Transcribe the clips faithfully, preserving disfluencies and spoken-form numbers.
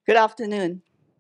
Good afternoon.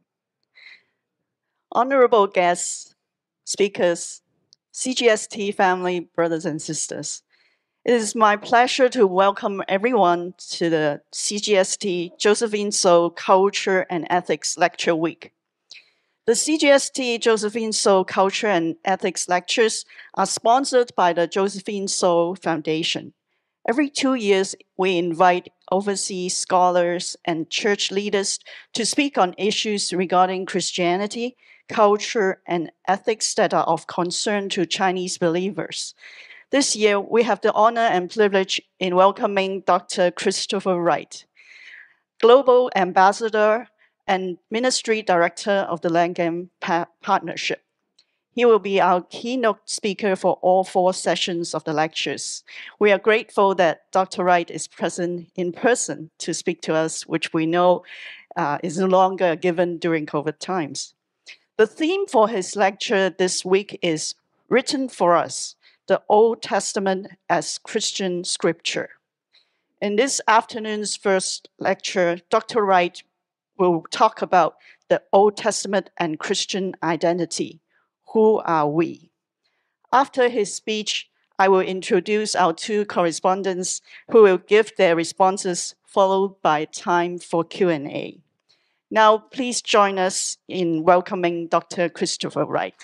Honorable guests, speakers, C G S T family, brothers and sisters. It is my pleasure to welcome everyone to the C G S T Josephine So Culture and Ethics Lecture Week. The C G S T Josephine So Culture and Ethics Lectures are sponsored by the Josephine So Foundation. Every two years, we invite overseas scholars and church leaders to speak on issues regarding Christianity, culture, and ethics that are of concern to Chinese believers. This year, we have the honor and privilege in welcoming Doctor Christopher Wright, Global Ambassador and Ministry Director of the Langham Partnership. He will be our keynote speaker for all four sessions of the lectures. We are grateful that Doctor Wright is present in person to speak to us, which we know uh, is no longer given during COVID times. The theme for his lecture this week is Written for Us, the Old Testament as Christian Scripture. In this afternoon's first lecture, Doctor Wright will talk about the Old Testament and Christian identity. Who are we? After his speech, I will introduce our two correspondents who will give their responses, followed by time for Q and A. Now, please join us in welcoming Doctor Christopher Wright.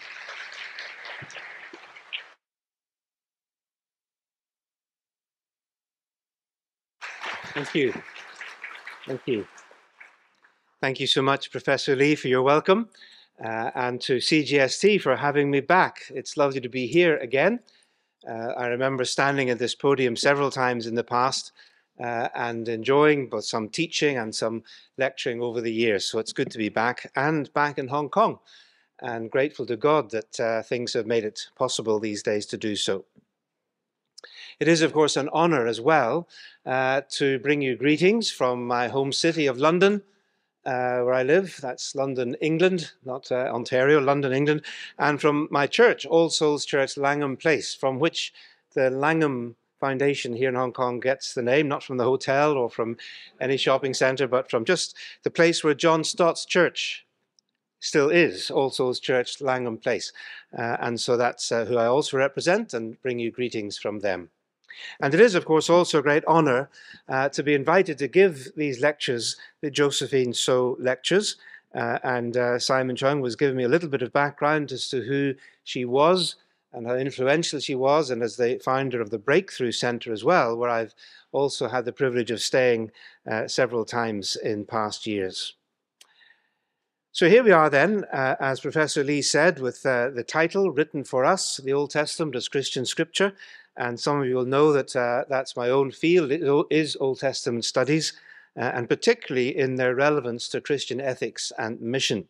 Thank you. Thank you. Thank you so much, Professor Lee, for your welcome. Uh, and to C G S T for having me back. It's lovely to be here again. Uh, I remember standing at this podium several times in the past uh, and enjoying both some teaching and some lecturing over the years. So it's good to be back and back in Hong Kong, and grateful to God that uh, things have made it possible these days to do so. It is, of course, an honor as well uh, to bring you greetings from my home city of London, Uh, where I live. That's London, England, not uh, Ontario, London, England, and from my church, All Souls Church, Langham Place, from which the Langham Foundation here in Hong Kong gets the name, not from the hotel or from any shopping centre, but from just the place where John Stott's church still is, All Souls Church, Langham Place. Uh, and so that's uh, who I also represent, and bring you greetings from them. And it is, of course, also a great honor uh, to be invited to give these lectures, the Josephine So lectures. Uh, and uh, Simon Chung was giving me a little bit of background as to who she was and how influential she was, and as the founder of the Breakthrough Center as well, where I've also had the privilege of staying uh, several times in past years. So here we are then, uh, as Professor Lee said, with uh, the title, Written for Us, the Old Testament as Christian Scripture. And some of you will know that uh, that's my own field, it is Old Testament studies, uh, and particularly in their relevance to Christian ethics and mission.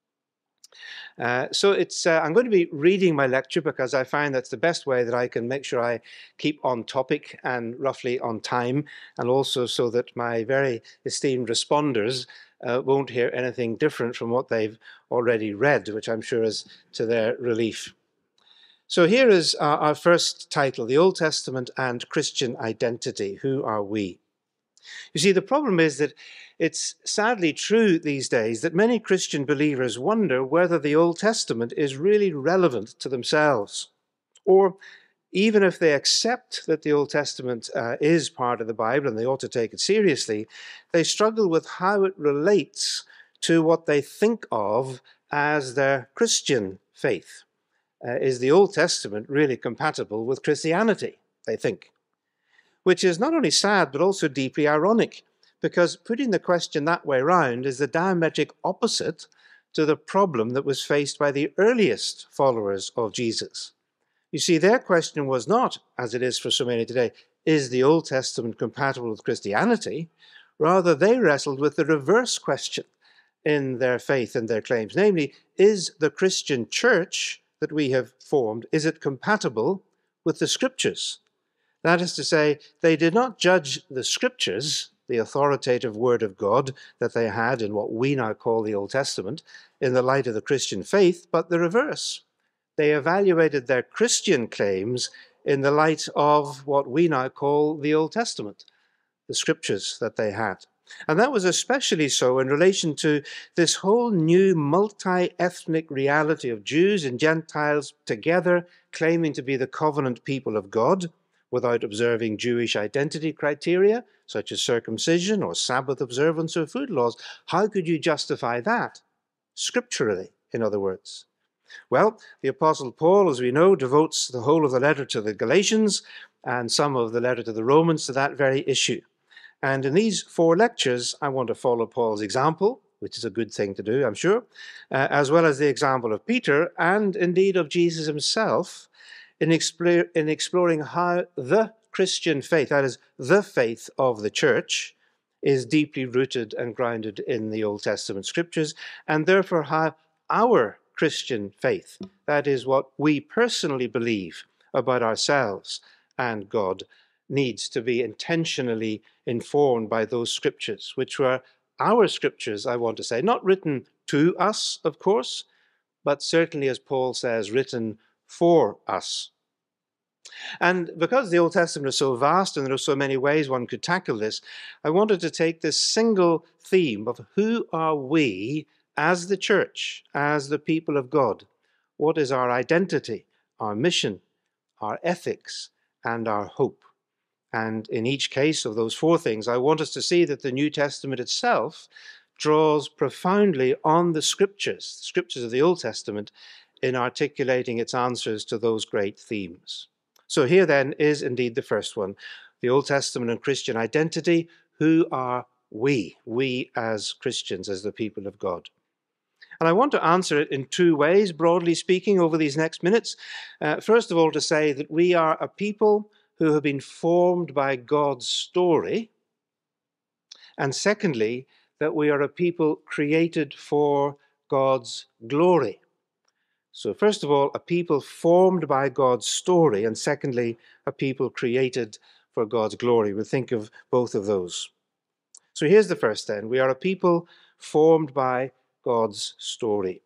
Uh, so it's, uh, I'm going to be reading my lecture because I find that's the best way that I can make sure I keep on topic and roughly on time, and also so that my very esteemed responders uh, won't hear anything different from what they've already read, which I'm sure is to their relief. So here is our, our first title, The Old Testament and Christian Identity. Who are we? You see, the problem is that it's sadly true these days that many Christian believers wonder whether the Old Testament is really relevant to themselves. Or even if they accept that the Old Testament uh, is part of the Bible and they ought to take it seriously, they struggle with how it relates to what they think of as their Christian faith. Uh, is the Old Testament really compatible with Christianity, they think? Which is not only sad, but also deeply ironic, because putting the question that way round is the diametric opposite to the problem that was faced by the earliest followers of Jesus. You see, their question was not, as it is for so many today, is the Old Testament compatible with Christianity? Rather, they wrestled with the reverse question in their faith and their claims, namely, is the Christian church that we have formed, is it compatible with the Scriptures? That is to say, they did not judge the Scriptures, the authoritative Word of God that they had in what we now call the Old Testament, in the light of the Christian faith, but the reverse. They evaluated their Christian claims in the light of what we now call the Old Testament, the Scriptures that they had. And that was especially so in relation to this whole new multi-ethnic reality of Jews and Gentiles together claiming to be the covenant people of God without observing Jewish identity criteria, such as circumcision or Sabbath observance or food laws. How could you justify that? Scripturally, in other words. Well, the Apostle Paul, as we know, devotes the whole of the letter to the Galatians and some of the letter to the Romans to that very issue. And in these four lectures, I want to follow Paul's example, which is a good thing to do, I'm sure, uh, as well as the example of Peter and indeed of Jesus himself in, explore, in exploring how the Christian faith, that is, the faith of the church, is deeply rooted and grounded in the Old Testament scriptures, and therefore how our Christian faith, that is, what we personally believe about ourselves and God, needs to be intentionally informed by those scriptures, which were our scriptures, I want to say, not written to us, of course, but certainly, as Paul says, written for us. And because the Old Testament is so vast and there are so many ways one could tackle this, I wanted to take this single theme of who are we as the church, as the people of God? What is our identity, our mission, our ethics, and our hope? And in each case of those four things, I want us to see that the New Testament itself draws profoundly on the scriptures, the scriptures of the Old Testament, in articulating its answers to those great themes. So here then is indeed the first one, the Old Testament and Christian identity. Who are we, we as Christians, as the people of God? And I want to answer it in two ways, broadly speaking, over these next minutes. Uh, first of all, to say that we are a people who have been formed by God's story. And secondly, that we are a people created for God's glory. So first of all, a people formed by God's story, and secondly, a people created for God's glory. We'll think of both of those. So here's the first then. We are a people formed by God's story.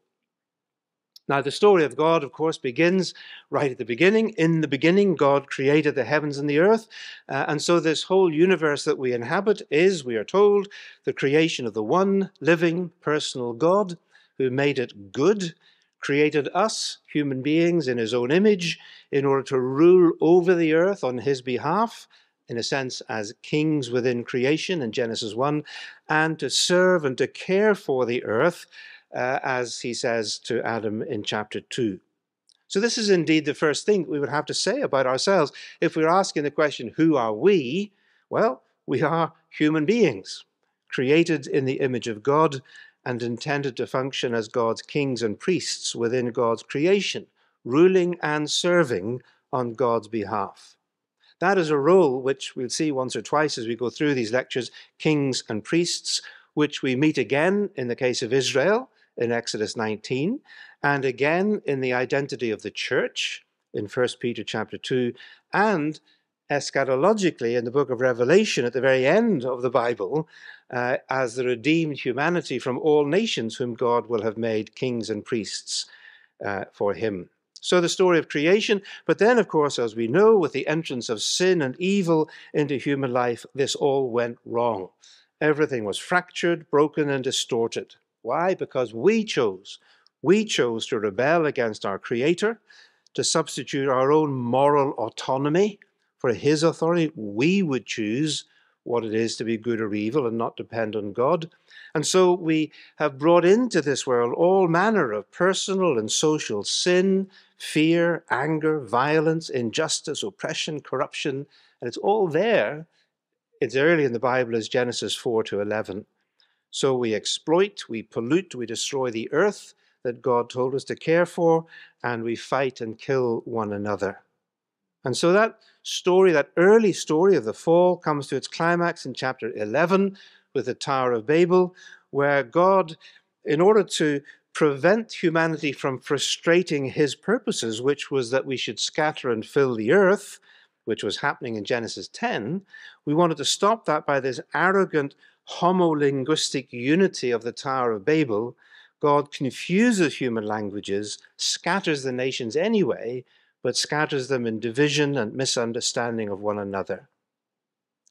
Now, the story of God, of course, begins right at the beginning. In the beginning, God created the heavens and the earth. Uh, and so this whole universe that we inhabit is, we are told, the creation of the one living personal God who made it good, created us, human beings, in his own image in order to rule over the earth on his behalf, in a sense as kings within creation in Genesis one, and to serve and to care for the earth, Uh, as he says to Adam in chapter two. So this is indeed the first thing we would have to say about ourselves. If we're asking the question, who are we? Well, we are human beings, created in the image of God and intended to function as God's kings and priests within God's creation, ruling and serving on God's behalf. That is a role which we'll see once or twice as we go through these lectures, kings and priests, which we meet again in the case of Israel, in Exodus nineteen, and again in the identity of the church in First Peter chapter two, and eschatologically in the book of Revelation at the very end of the Bible, uh, as the redeemed humanity from all nations whom God will have made kings and priests uh, for him. So the story of creation, but then, of course, as we know, with the entrance of sin and evil into human life, this all went wrong. Everything was fractured, broken, and distorted. Why? Because we chose. We chose to rebel against our Creator, to substitute our own moral autonomy for his authority. We would choose what it is to be good or evil and not depend on God. And so we have brought into this world all manner of personal and social sin, fear, anger, violence, injustice, oppression, corruption, and it's all there. It's early in the Bible as Genesis four to eleven. So we exploit, we pollute, we destroy the earth that God told us to care for, and we fight and kill one another. And so that story, that early story of the fall, comes to its climax in chapter eleven with the Tower of Babel, where God, in order to prevent humanity from frustrating his purposes, which was that we should scatter and fill the earth, which was happening in Genesis ten, we wanted to stop that by this arrogant homolinguistic unity of the Tower of Babel. God confuses human languages, scatters the nations anyway, but scatters them in division and misunderstanding of one another.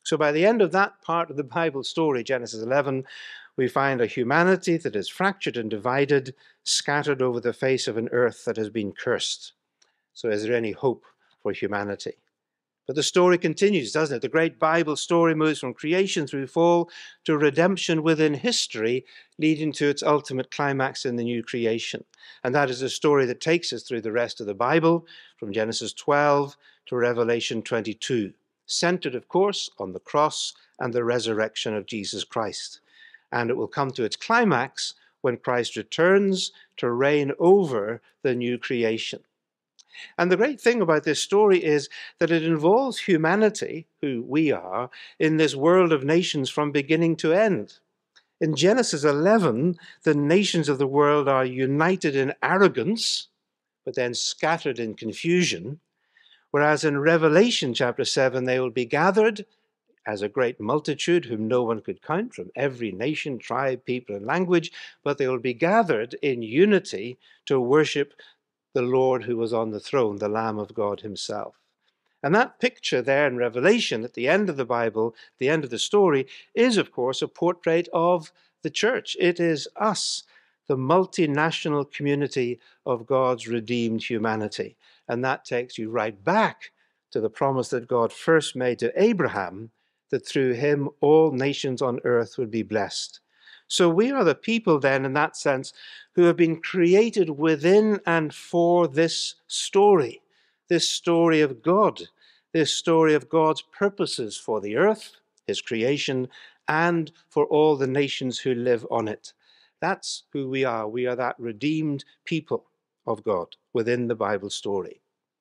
So by the end of that part of the Bible story, Genesis eleven, we find a humanity that is fractured and divided, scattered over the face of an earth that has been cursed. So is there any hope for humanity? But the story continues, doesn't it? The great Bible story moves from creation through fall to redemption within history, leading to its ultimate climax in the new creation. And that is a story that takes us through the rest of the Bible, from Genesis twelve to Revelation twenty-two, centered, of course, on the cross and the resurrection of Jesus Christ. And it will come to its climax when Christ returns to reign over the new creation. And the great thing about this story is that it involves humanity, who we are, in this world of nations from beginning to end. In Genesis eleven, the nations of the world are united in arrogance, but then scattered in confusion. Whereas in Revelation chapter seven, they will be gathered as a great multitude whom no one could count, from every nation, tribe, people, and language, but they will be gathered in unity to worship the Lord who was on the throne, the Lamb of God himself. And that picture there in Revelation at the end of the Bible, the end of the story, is of course a portrait of the church. It is us, the multinational community of God's redeemed humanity. And that takes you right back to the promise that God first made to Abraham, that through him all nations on earth would be blessed. So we are the people then, in that sense, who have been created within and for this story, this story of God, this story of God's purposes for the earth, his creation, and for all the nations who live on it. That's who we are. We are that redeemed people of God within the Bible story.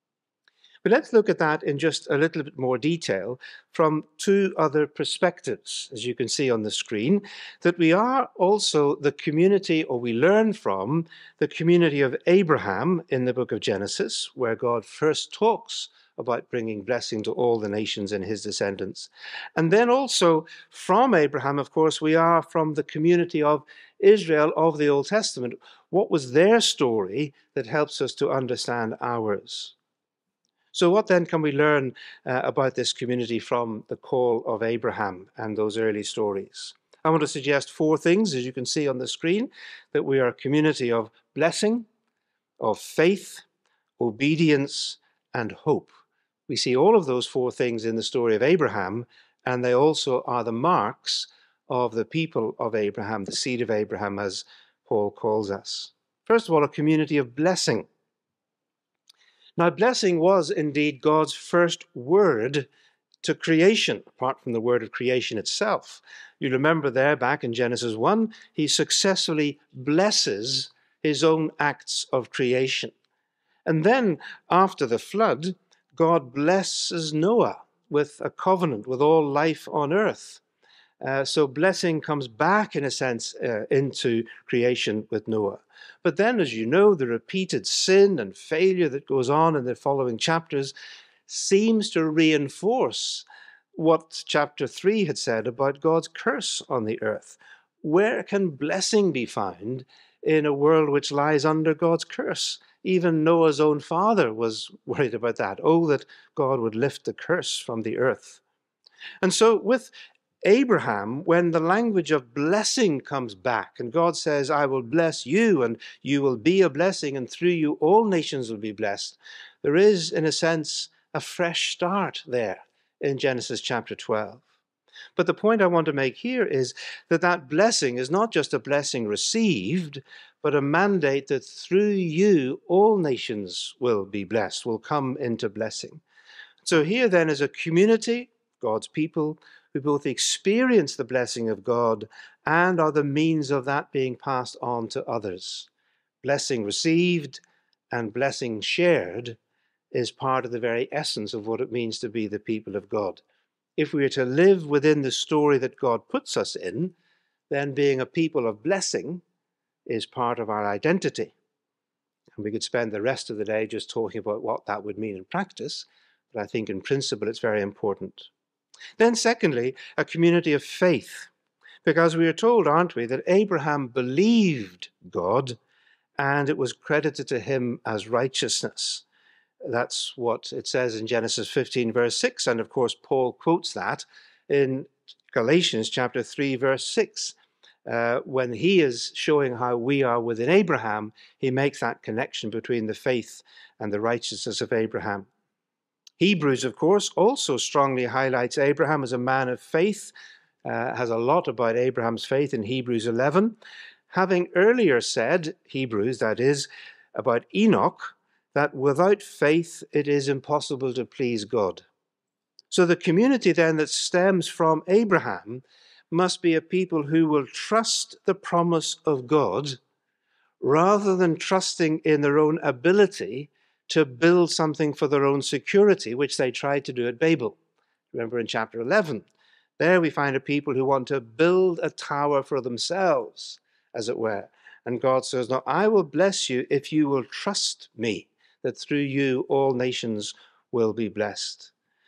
But let's look at that in just a little bit more detail from two other perspectives, as you can see on the screen, that we are also the community, or we learn from the community of Abraham in the book of Genesis, where God first talks about bringing blessing to all the nations and his descendants. And then also from Abraham, of course, we are from the community of Israel of the Old Testament. What was their story that helps us to understand ours? So what then can we learn uh, about this community from the call of Abraham and those early stories? I want to suggest four things, as you can see on the screen, that we are a community of blessing, of faith, obedience, and hope. We see all of those four things in the story of Abraham, and they also are the marks of the people of Abraham, the seed of Abraham, as Paul calls us. First of all, a community of blessing. Now, blessing was indeed God's first word to creation, apart from the word of creation itself. You remember there back in Genesis one, he successfully blesses his own acts of creation. And then after the flood, God blesses Noah with a covenant with all life on earth. Uh, so blessing comes back, in a sense, uh, into creation with Noah. But then, as you know, the repeated sin and failure that goes on in the following chapters seems to reinforce what chapter three had said about God's curse on the earth. Where can blessing be found in a world which lies under God's curse? Even Noah's own father was worried about that. Oh, that God would lift the curse from the earth. And so with Abraham, when the language of blessing comes back, and God says, I will bless you, and you will be a blessing, and through you all nations will be blessed, there is, in a sense, a fresh start there in Genesis chapter twelve. But the point I want to make here is that that blessing is not just a blessing received, but a mandate that through you all nations will be blessed, will come into blessing. So here then is a community, God's people, who both experience the blessing of God and are the means of that being passed on to others. Blessing received and blessing shared is part of the very essence of what it means to be the people of God. If we are to live within the story that God puts us in, then being a people of blessing is part of our identity. And we could spend the rest of the day just talking about what that would mean in practice, but I think in principle it's very important. Then secondly, a community of faith, because we are told, aren't we, that Abraham believed God and it was credited to him as righteousness. That's what it says in Genesis fifteen, verse six, and of course Paul quotes that in Galatians chapter three, verse six. Uh, when he is showing how we are within Abraham, he makes that connection between the faith and the righteousness of Abraham. Hebrews, of course, also strongly highlights Abraham as a man of faith, uh, has a lot about Abraham's faith in Hebrews eleven, having earlier said, Hebrews that is, about Enoch, that without faith it is impossible to please God. So the community then that stems from Abraham must be a people who will trust the promise of God rather than trusting in their own ability to build something for their own security, which they tried to do at Babel. Remember in chapter eleven, there we find a people who want to build a tower for themselves, as it were. And God says, no, I will bless you if you will trust me, that through you all nations will be blessed.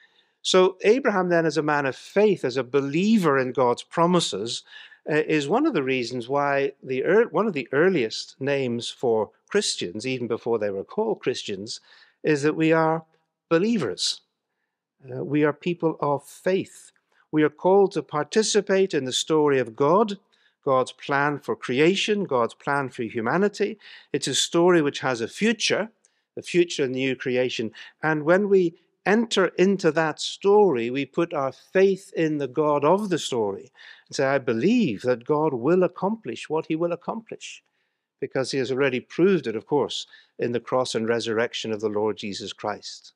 So Abraham then, as a man of faith, as a believer in God's promises, uh, is one of the reasons why the er one of the earliest names for Christians, even before they were called Christians, is that we are believers. Uh, we are people of faith. We are called to participate in the story of God, God's plan for creation, God's plan for humanity. It's a story which has a future, a future in new creation. And when we enter into that story, we put our faith in the God of the story and say, I believe that God will accomplish what he will accomplish, because he has already proved it, of course, in the cross and resurrection of the Lord Jesus Christ.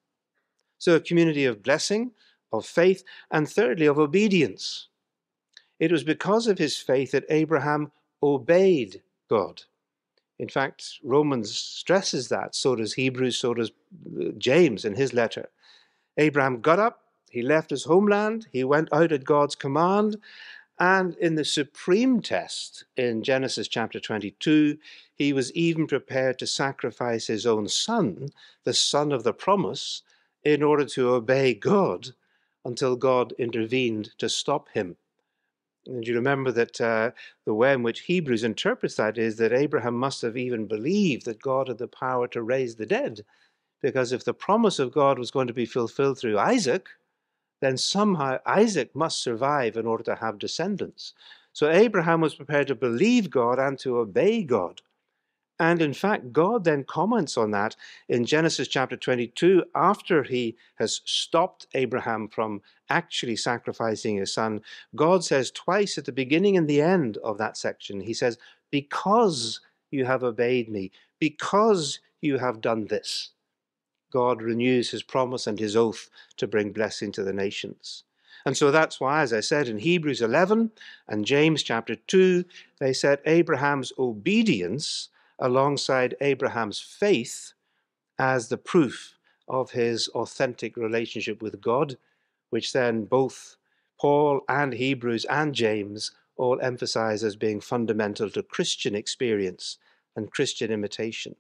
So a community of blessing, of faith, and thirdly, of obedience. It was because of his faith that Abraham obeyed God. In fact, Romans stresses that, so does Hebrews, so does James in his letter. Abraham got up, he left his homeland, he went out at God's command, and in the supreme test in Genesis chapter twenty-two, he was even prepared to sacrifice his own son, the son of the promise, in order to obey God until God intervened to stop him. And you remember that uh, the way in which Hebrews interprets that is that Abraham must have even believed that God had the power to raise the dead. Because if the promise of God was going to be fulfilled through Isaac, then somehow Isaac must survive in order to have descendants. So Abraham was prepared to believe God and to obey God. And in fact, God then comments on that in Genesis chapter twenty-two, after he has stopped Abraham from actually sacrificing his son. God says twice at the beginning and the end of that section, he says, because you have obeyed me, because you have done this. God renews his promise and his oath to bring blessing to the nations. And so that's why, as I said, in Hebrews eleven and James chapter two, they set Abraham's obedience alongside Abraham's faith as the proof of his authentic relationship with God, which then both Paul and Hebrews and James all emphasize as being fundamental to Christian experience and Christian imitation,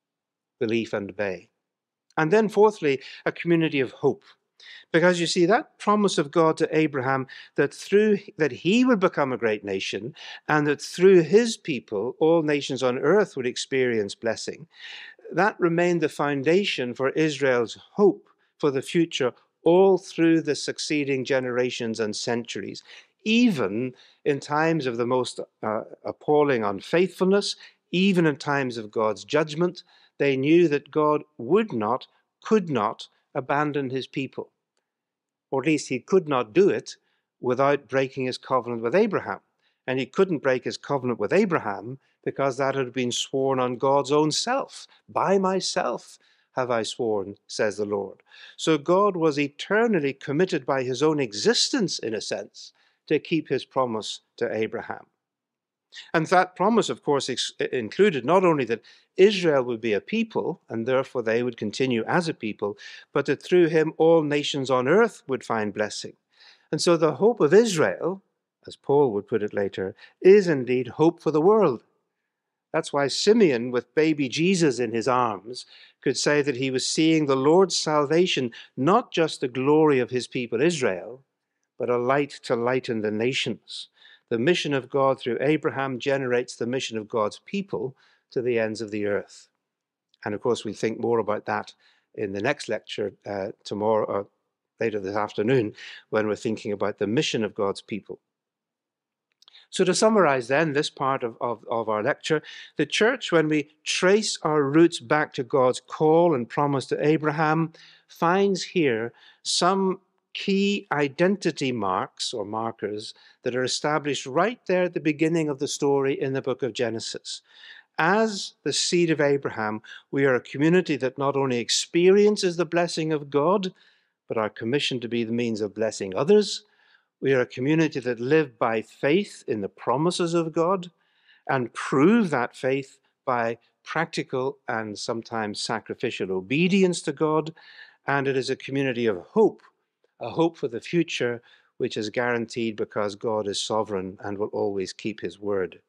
belief and obey. And then fourthly, a community of hope. Because you see, that promise of God to Abraham that through that he would become a great nation and that through his people all nations on earth would experience blessing, that remained the foundation for Israel's hope for the future all through the succeeding generations and centuries. Even in times of the most uh, appalling unfaithfulness, even in times of God's judgment, they knew that God would not, could not abandon his people. Or at least he could not do it without breaking his covenant with Abraham. And he couldn't break his covenant with Abraham because that had been sworn on God's own self. By myself have I sworn, says the Lord. So God was eternally committed by his own existence, in a sense, to keep his promise to Abraham. And that promise, of course, included not only that Israel would be a people, and therefore they would continue as a people, but that through him all nations on earth would find blessing. And so the hope of Israel, as Paul would put it later, is indeed hope for the world. That's why Simeon, with baby Jesus in his arms, could say that he was seeing the Lord's salvation, not just the glory of his people Israel, but a light to lighten the nations. The mission of God through Abraham generates the mission of God's people to the ends of the earth. And of course, we'll think more about that in the next lecture uh, tomorrow, or later this afternoon when we're thinking about the mission of God's people. So to summarize then this part of, of, of our lecture, the church, when we trace our roots back to God's call and promise to Abraham, finds here some key identity marks or markers that are established right there at the beginning of the story in the book of Genesis. As the seed of Abraham, we are a community that not only experiences the blessing of God, but are commissioned to be the means of blessing others. We are a community that live by faith in the promises of God and prove that faith by practical and sometimes sacrificial obedience to God. And it is a community of hope, a hope for the future, which is guaranteed because God is sovereign and will always keep his word.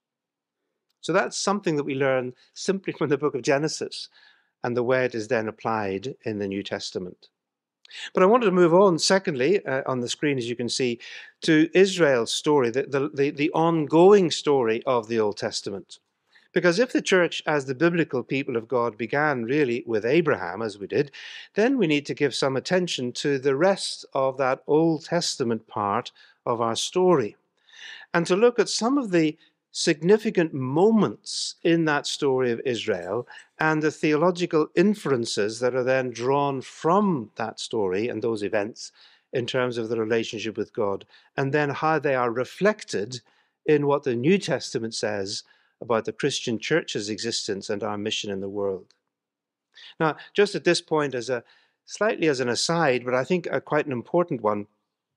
So that's something that we learn simply from the book of Genesis and the way it is then applied in the New Testament. But I wanted to move on, secondly, uh, on the screen, as you can see, to Israel's story, the, the, the, the ongoing story of the Old Testament. Because if the church, as the biblical people of God, began really with Abraham, as we did, then we need to give some attention to the rest of that Old Testament part of our story, and to look at some of the significant moments in that story of Israel and the theological inferences that are then drawn from that story and those events in terms of the relationship with God, and then how they are reflected in what the New Testament says about the Christian church's existence and our mission in the world. Now, just at this point, as a slightly as an aside, but I think a, quite an important one,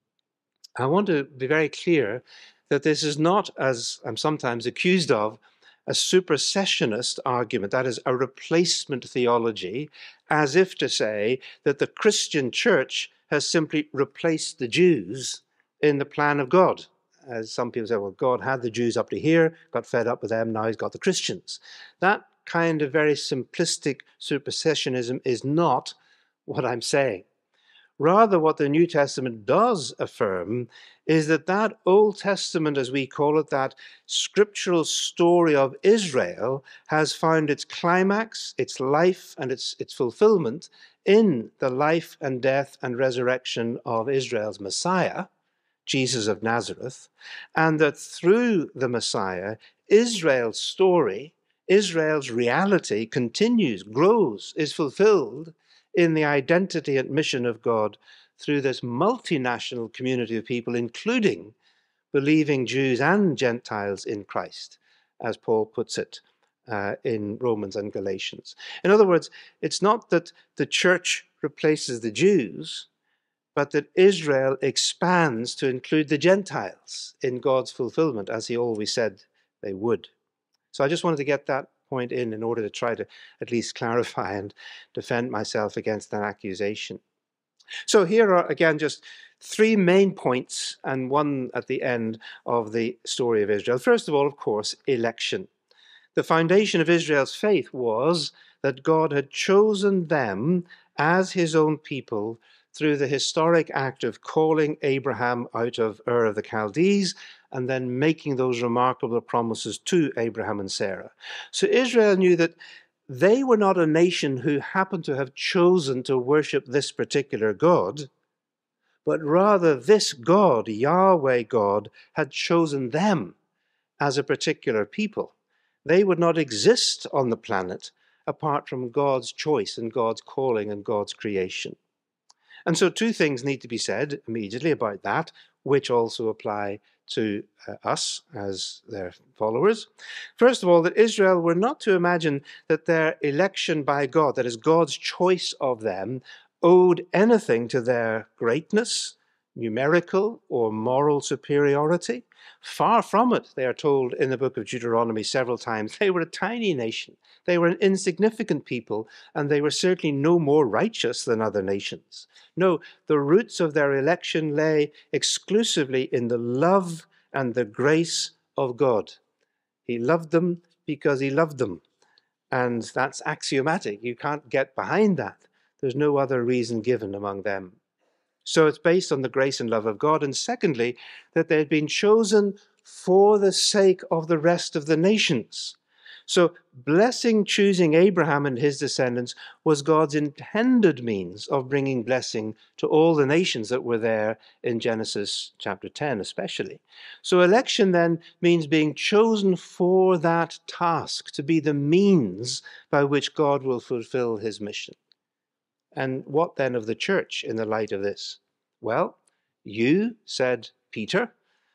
I want to be very clear that this is not, as I'm sometimes accused of, a supersessionist argument, that is, a replacement theology, as if to say that the Christian church has simply replaced the Jews in the plan of God. As some people say, well, God had the Jews up to here, got fed up with them, now he's got the Christians. That kind of very simplistic supersessionism is not what I'm saying. Rather, what the New Testament does affirm is that that Old Testament, as we call it, that scriptural story of Israel, has found its climax, its life, and its, its fulfillment in the life and death and resurrection of Israel's Messiah, Jesus of Nazareth, and that through the Messiah, Israel's story, Israel's reality continues, grows, is fulfilled in the identity and mission of God through this multinational community of people, including believing Jews and Gentiles in Christ, as Paul puts it uh, in Romans and Galatians. In other words, it's not that the church replaces the Jews, but that Israel expands to include the Gentiles in God's fulfillment, as he always said they would. So I just wanted to get that point in in order to try to at least clarify and defend myself against that accusation. So here are, again, just three main points and one at the end of the story of Israel. First of all, of course, election. The foundation of Israel's faith was that God had chosen them as his own people through the historic act of calling Abraham out of Ur of the Chaldees and then making those remarkable promises to Abraham and Sarah. So Israel knew that they were not a nation who happened to have chosen to worship this particular God, but rather this God, Yahweh God, had chosen them as a particular people. They would not exist on the planet apart from God's choice and God's calling and God's creation. And so two things need to be said immediately about that, which also apply to uh, us as their followers. First of all, that Israel were not to imagine that their election by God, that is God's choice of them, owed anything to their greatness, numerical or moral superiority. Far from it, they are told in the book of Deuteronomy several times. They were a tiny nation. They were an insignificant people, and they were certainly no more righteous than other nations. No, the roots of their election lay exclusively in the love and the grace of God. He loved them because he loved them. And that's axiomatic. You can't get behind that. There's no other reason given among them. So it's based on the grace and love of God. And secondly, that they had been chosen for the sake of the rest of the nations. So blessing, choosing Abraham and his descendants was God's intended means of bringing blessing to all the nations that were there in Genesis chapter ten especially. So election then means being chosen for that task, to be the means by which God will fulfill his mission. And what then of the church in the light of this? Well, you, said Peter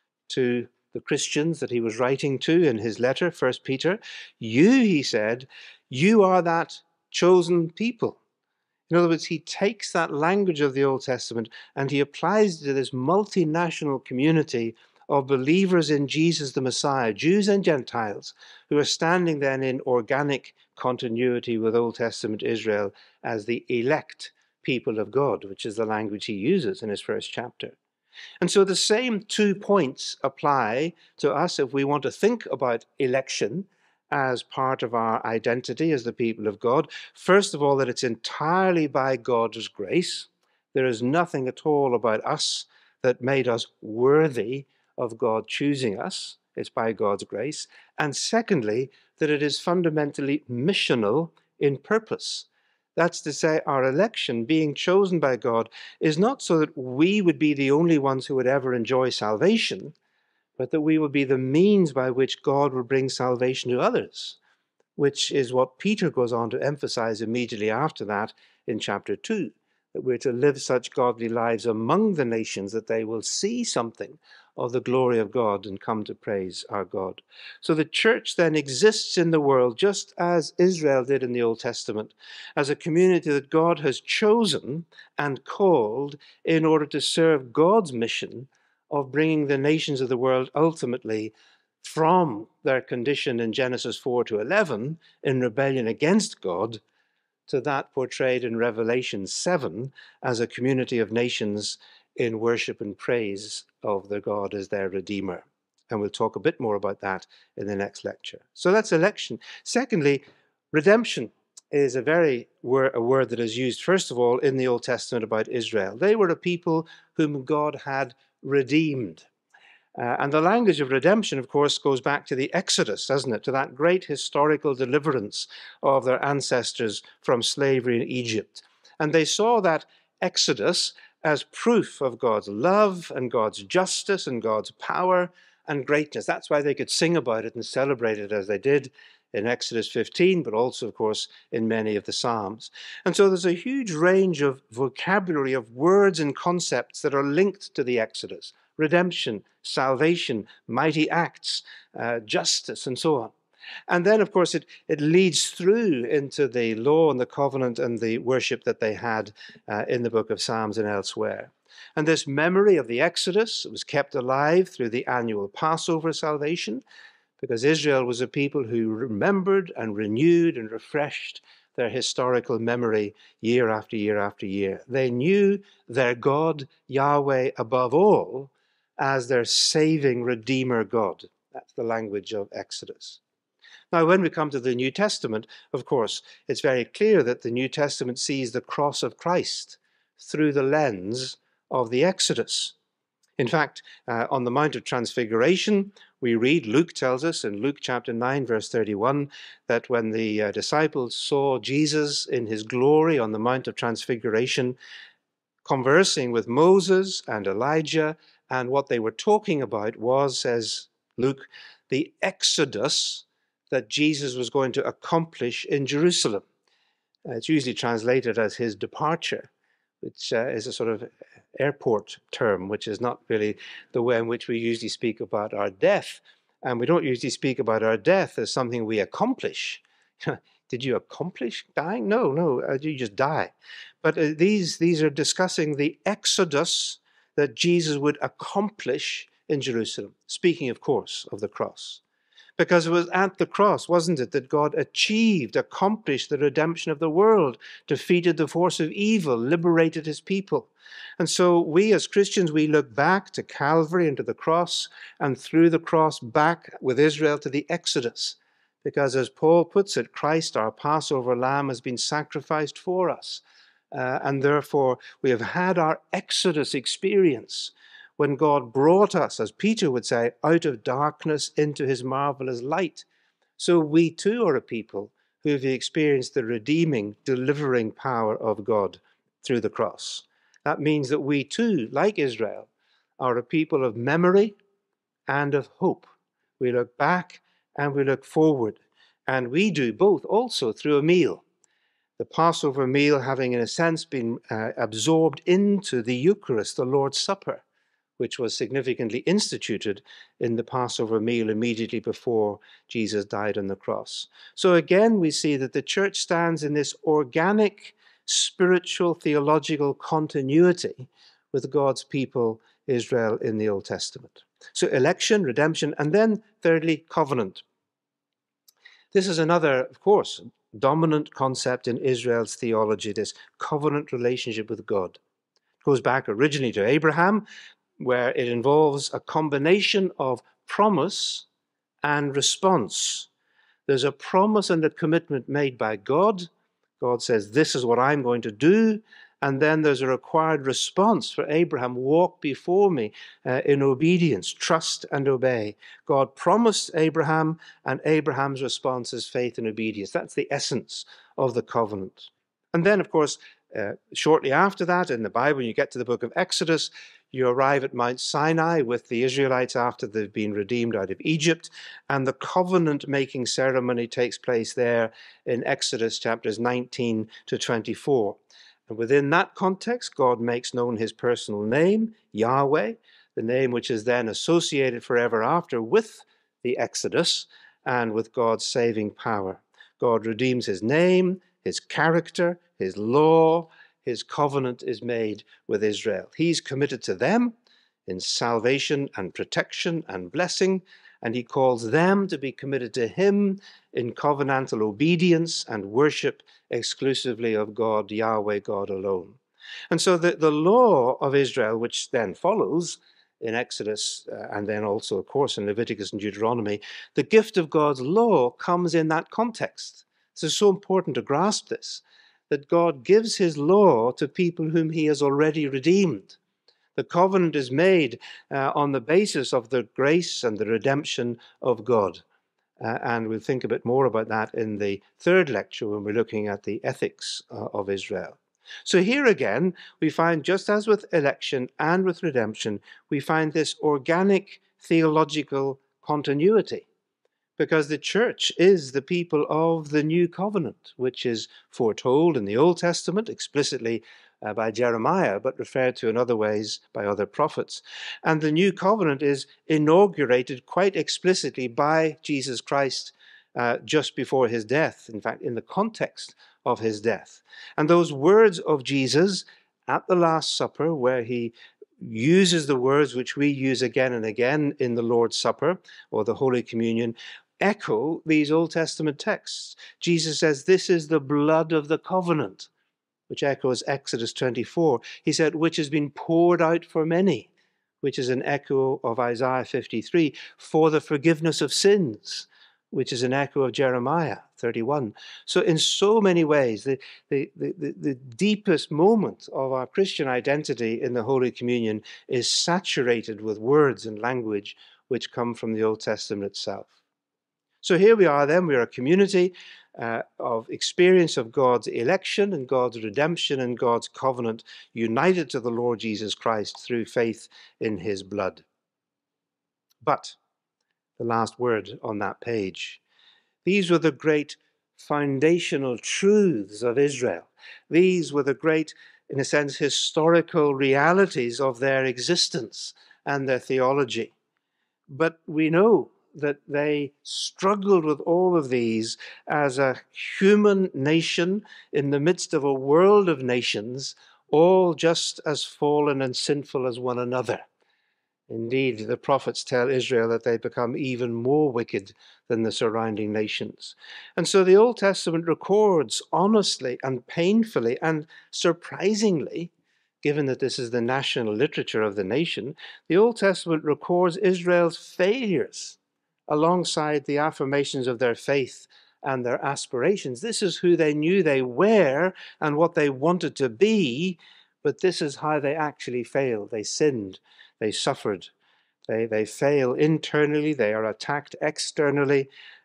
to the Christians that he was writing to in his letter, First Peter, you, he said, you are that chosen people. In other words, he takes that language of the Old Testament and he applies it to this multinational community of believers in Jesus the Messiah, Jews and Gentiles, who are standing then in organic continuity with Old Testament Israel as the elect people of God, which is the language he uses in his first chapter. And so the same two points apply to us if we want to think about election as part of our identity as the people of God. First of all, that it's entirely by God's grace. There is nothing at all about us that made us worthy of God choosing us. It's by God's grace. And secondly, that it is fundamentally missional in purpose. That's to say, our election, being chosen by God, is not so that we would be the only ones who would ever enjoy salvation, but that we will be the means by which God will bring salvation to others, which is what Peter goes on to emphasize immediately after that in chapter two, that we're to live such godly lives among the nations that they will see something of the glory of God and come to praise our God. So the church then exists in the world just as Israel did in the Old Testament, as a community that God has chosen and called in order to serve God's mission of bringing the nations of the world ultimately from their condition in Genesis four to eleven in rebellion against God to that portrayed in Revelation seven as a community of nations in worship and praise of their God as their Redeemer. And we'll talk a bit more about that in the next lecture. So that's election. Secondly, redemption is a very word, a word that is used, first of all, in the Old Testament about Israel. They were a people whom God had redeemed. Uh, and the language of redemption, of course, goes back to the Exodus, doesn't it? To that great historical deliverance of their ancestors from slavery in Egypt. And they saw that Exodus as proof of God's love and God's justice and God's power and greatness. That's why they could sing about it and celebrate it as they did in Exodus fifteen, but also, of course, in many of the Psalms. And so there's a huge range of vocabulary of words and concepts that are linked to the Exodus. Redemption, salvation, mighty acts, uh, justice, and so on. And then, of course, it, it leads through into the law and the covenant and the worship that they had uh, in the book of Psalms and elsewhere. And this memory of the Exodus was kept alive through the annual Passover salvation, because Israel was a people who remembered and renewed and refreshed their historical memory year after year after year. They knew their God, Yahweh, above all, as their saving Redeemer God. That's the language of Exodus. Now, when we come to the New Testament, of course, it's very clear that the New Testament sees the cross of Christ through the lens of the Exodus. In fact, uh, on the Mount of Transfiguration, we read, Luke tells us in Luke chapter nine, verse thirty-one, that when the uh, disciples saw Jesus in his glory on the Mount of Transfiguration, conversing with Moses and Elijah, and what they were talking about was, says Luke, the exodus that Jesus was going to accomplish in Jerusalem. Uh, it's usually translated as his departure, which uh, is a sort of airport term, which is not really the way in which we usually speak about our death. And we don't usually speak about our death as something we accomplish. Did you accomplish dying? No, no, uh, you just die. But uh, these, these are discussing the exodus that Jesus would accomplish in Jerusalem, speaking, of course, of the cross. Because it was at the cross, wasn't it, that God achieved, accomplished the redemption of the world, defeated the force of evil, liberated his people. And so we as Christians, we look back to Calvary and to the cross, and through the cross back with Israel to the Exodus. Because as Paul puts it, Christ, our Passover lamb, has been sacrificed for us. Uh, and therefore we have had our Exodus experience, when God brought us, as Peter would say, out of darkness into his marvelous light. so we too are a people who have experienced the redeeming, delivering power of God through the cross. That means that we too, like Israel, are a people of memory and of hope. We look back and we look forward, and we do both also through a meal. The Passover meal having, in a sense, been uh, absorbed into the Eucharist, the Lord's Supper, which was significantly instituted in the Passover meal immediately before Jesus died on the cross. So again, we see that the church stands in this organic, spiritual, theological continuity with God's people, Israel, in the Old Testament. So election, redemption, and then thirdly, covenant. This is another, of course, dominant concept in Israel's theology, this covenant relationship with God. It goes back originally to Abraham, where it involves a combination of promise and response. There's a promise and a commitment made by God. God says, this is what I'm going to do. And then there's a required response for Abraham, walk before me uh, in obedience, trust and obey. God promised Abraham, and Abraham's response is faith and obedience. That's the essence of the covenant. And then, of course, uh, shortly after that, in the Bible, when you get to the book of Exodus, you arrive at Mount Sinai with the Israelites after they've been redeemed out of Egypt, and the covenant-making ceremony takes place there in Exodus chapters nineteen to twenty-four. And within that context, God makes known his personal name, Yahweh, the name which is then associated forever after with the Exodus and with God's saving power. God redeems his name, his character, his law, his covenant is made with Israel. He's committed to them in salvation and protection and blessing, and he calls them to be committed to him in covenantal obedience and worship exclusively of God, Yahweh, God alone. And so the, the law of Israel, which then follows in Exodus uh, and then also, of course, in Leviticus and Deuteronomy, the gift of God's law comes in that context. So it's so important to grasp this, that God gives his law to people whom he has already redeemed. The covenant is made uh, on the basis of the grace and the redemption of God. Uh, and we'll think a bit more about that in the third lecture when we're looking at the ethics uh, of Israel. So here again, we find, just as with election and with redemption, we find this organic theological continuity. Because the church is the people of the new covenant, which is foretold in the Old Testament explicitly uh, by Jeremiah, but referred to in other ways by other prophets. And the new covenant is inaugurated quite explicitly by Jesus Christ uh, just before his death, in fact, in the context of his death. And those words of Jesus at the Last Supper, where he uses the words which we use again and again in the Lord's Supper or the Holy Communion, echo these Old Testament texts. Jesus says, this is the blood of the covenant, which echoes Exodus twenty-four. He said, which has been poured out for many, which is an echo of Isaiah fifty-three, for the forgiveness of sins, which is an echo of Jeremiah thirty-one. So in so many ways, the, the, the, the deepest moment of our Christian identity in the Holy Communion is saturated with words and language which come from the Old Testament itself. So here we are then, we are a community uh, of experience of God's election and God's redemption and God's covenant, united to the Lord Jesus Christ through faith in his blood. But the last word on that page, these were the great foundational truths of Israel. These were the great, in a sense, historical realities of their existence and their theology. But we know that they struggled with all of these as a human nation in the midst of a world of nations, all just as fallen and sinful as one another. Indeed, the prophets tell Israel that they become even more wicked than the surrounding nations. And so the Old Testament records honestly and painfully and surprisingly, given that this is the national literature of the nation, the Old Testament records Israel's failures alongside the affirmations of their faith and their aspirations. This is who they knew they were and what they wanted to be, but this is how they actually failed. They sinned, they suffered, they, they fail internally, they are attacked externally,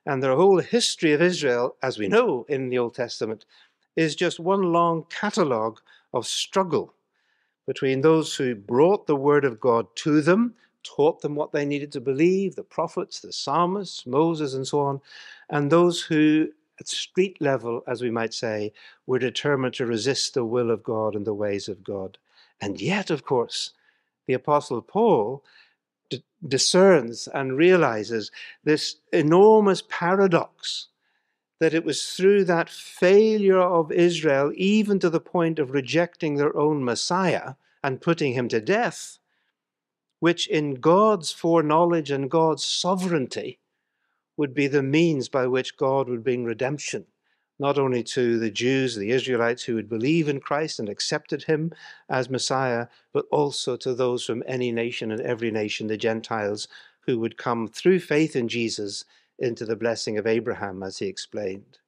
And the whole history of Israel, as we know in the Old Testament, is just one long catalogue of struggle between those who brought the word of God to them, taught them what they needed to believe, the prophets, the psalmists, Moses, and so on, and those who, at street level, as we might say, were determined to resist the will of God and the ways of God. And yet, of course, the Apostle Paul d- discerns and realizes this enormous paradox, that it was through that failure of Israel, even to the point of rejecting their own Messiah and putting him to death, which in God's foreknowledge and God's sovereignty would be the means by which God would bring redemption, not only to the Jews, the Israelites who would believe in Christ and accepted him as Messiah, but also to those from any nation and every nation, the Gentiles, who would come through faith in Jesus into the blessing of Abraham, as he explained.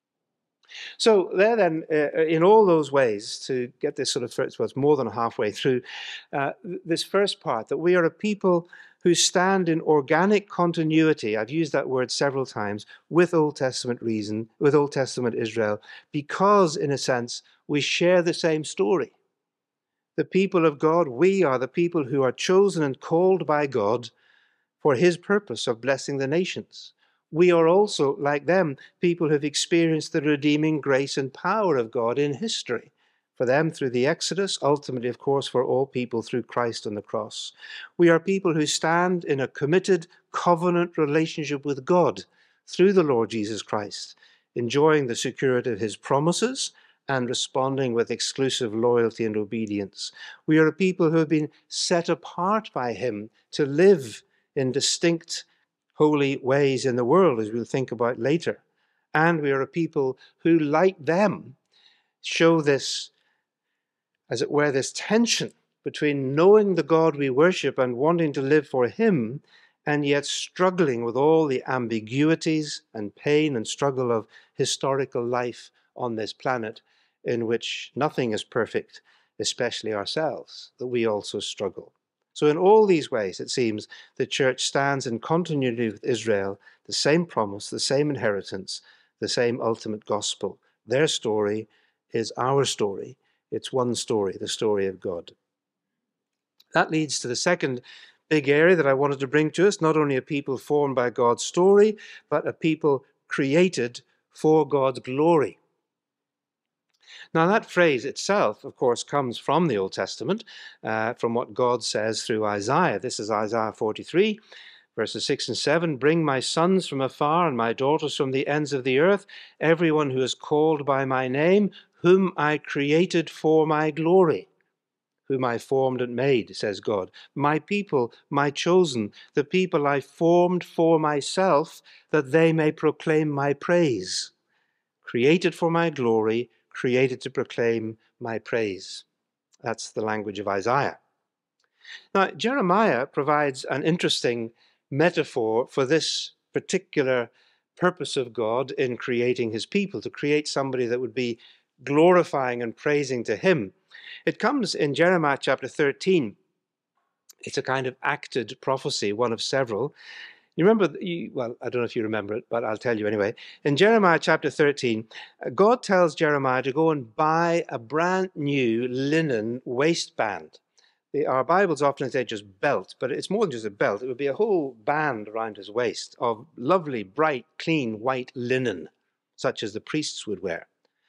So there then, uh, in all those ways, to get this sort of first, well, it's more than halfway through, uh, this first part, that we are a people who stand in organic continuity, I've used that word several times, with Old Testament reason, with Old Testament Israel, because, in a sense, we share the same story. The people of God, we are the people who are chosen and called by God for his purpose of blessing the nations. We are also, like them, people who have experienced the redeeming grace and power of God in history. For them through the Exodus, ultimately, of course, for all people through Christ on the cross. We are people who stand in a committed covenant relationship with God through the Lord Jesus Christ, enjoying the security of his promises and responding with exclusive loyalty and obedience. We are a people who have been set apart by him to live in distinct holy ways in the world, as we'll think about later. And we are a people who, like them, show this, as it were, this tension between knowing the God we worship and wanting to live for him, and yet struggling with all the ambiguities and pain and struggle of historical life on this planet, in which nothing is perfect, especially ourselves, that we also struggle. So in all these ways, it seems, the church stands in continuity with Israel, the same promise, the same inheritance, the same ultimate gospel. Their story is our story. It's one story, the story of God. That leads to the second big area that I wanted to bring to us, not only a people formed by God's story, but a people created for God's glory. Now, that phrase itself, of course, comes from the Old Testament, uh, from what God says through Isaiah. This is Isaiah forty-three, verses six and seven. Bring my sons from afar and my daughters from the ends of the earth, everyone who is called by my name, whom I created for my glory, whom I formed and made, says God. My people, my chosen, the people I formed for myself, that they may proclaim my praise. Created for my glory, created to proclaim my praise. That's the language of Isaiah. Now, Jeremiah provides an interesting metaphor for this particular purpose of God in creating his people, to create somebody that would be glorifying and praising to him. It comes in Jeremiah chapter thirteen. It's a kind of acted prophecy, one of several. You remember, you, well, I don't know if you remember it, but I'll tell you anyway. In Jeremiah chapter thirteen, God tells Jeremiah to go and buy a brand new linen waistband. The, our Bibles often say just belt, but it's more than just a belt. It would be a whole band around his waist of lovely, bright, clean, white linen, such as the priests would wear.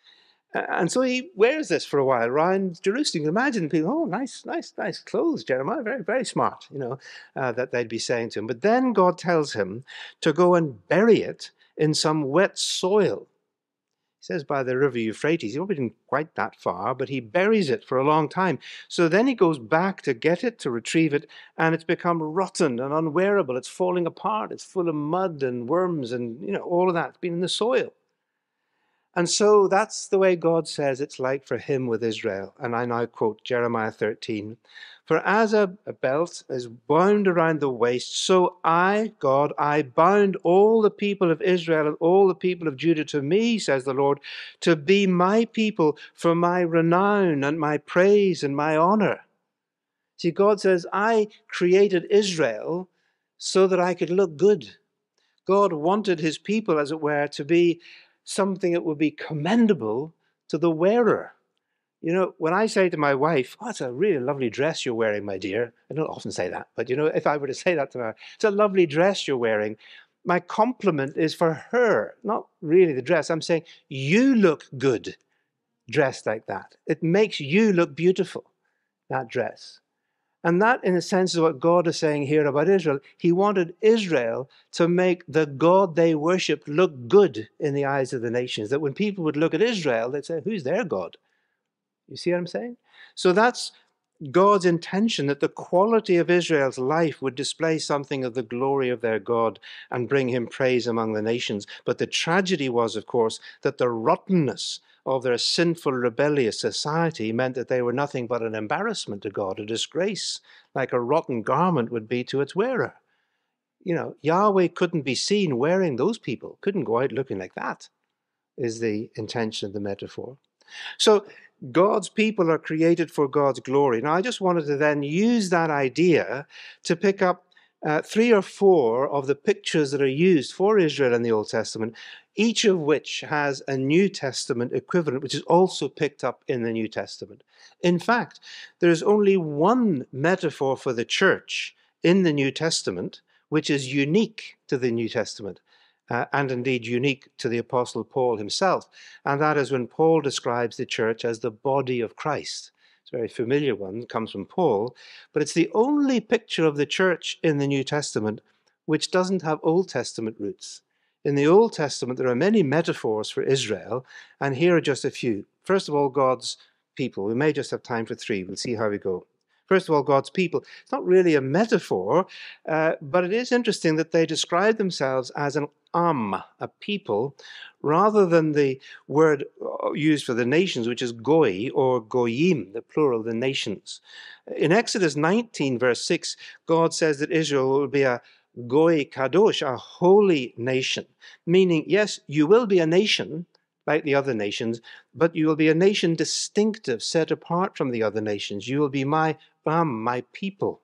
And so he wears this for a while around Jerusalem. You can imagine people, oh, nice, nice, nice clothes, Jeremiah, very, very smart, you know, uh, that they'd be saying to him. But then God tells him to go and bury it in some wet soil. He says by the river Euphrates. He probably didn't quite that far, but he buries it for a long time. So then he goes back to get it, to retrieve it, and it's become rotten and unwearable. It's falling apart. It's full of mud and worms and, you know, all of that's been in the soil. And so that's the way God says it's like for him with Israel. And I now quote Jeremiah thirteen. For as a, a belt is bound around the waist, so I, God, I bound all the people of Israel and all the people of Judah to me, says the Lord, to be my people for my renown and my praise and my honor. See, God says, I created Israel so that I could look good. God wanted his people, as it were, to be something that would be commendable to the wearer. You know, when I say to my wife, "Oh, it's a really lovely dress you're wearing, my dear," I don't often say that, but you know, if I were to say that to her, "It's a lovely dress you're wearing," my compliment is for her, not really the dress. I'm saying, you look good dressed like that. It makes you look beautiful, that dress. And that, in a sense, is what God is saying here about Israel. He wanted Israel to make the God they worshipped look good in the eyes of the nations, that when people would look at Israel, they'd say, who's their God? You see what I'm saying? So that's God's intention, that the quality of Israel's life would display something of the glory of their God and bring him praise among the nations. But the tragedy was, of course, that the rottenness of their sinful, rebellious society meant that they were nothing but an embarrassment to God, a disgrace, like a rotten garment would be to its wearer. You know, Yahweh couldn't be seen wearing those people, couldn't go out looking like that, is the intention of the metaphor. So God's people are created for God's glory. Now, I just wanted to then use that idea to pick up uh, three or four of the pictures that are used for Israel in the Old Testament, each of which has a New Testament equivalent, which is also picked up in the New Testament. In fact, there's only one metaphor for the church in the New Testament, which is unique to the New Testament. Uh, and indeed unique to the Apostle Paul himself. And that is when Paul describes the church as the body of Christ. It's a very familiar one, it comes from Paul, but it's the only picture of the church in the New Testament which doesn't have Old Testament roots. In the Old Testament, there are many metaphors for Israel, and here are just a few. First of all, God's people. We may just have time for three. We'll see how we go. First of all, God's people. It's not really a metaphor, uh, but it is interesting that they describe themselves as an am, a people, rather than the word used for the nations, which is goi or goyim, the plural, the nations. In Exodus nineteen, verse six, God says that Israel will be a goi kadosh, a holy nation, meaning, yes, you will be a nation, like the other nations, but you will be a nation distinctive, set apart from the other nations. You will be my am, my people.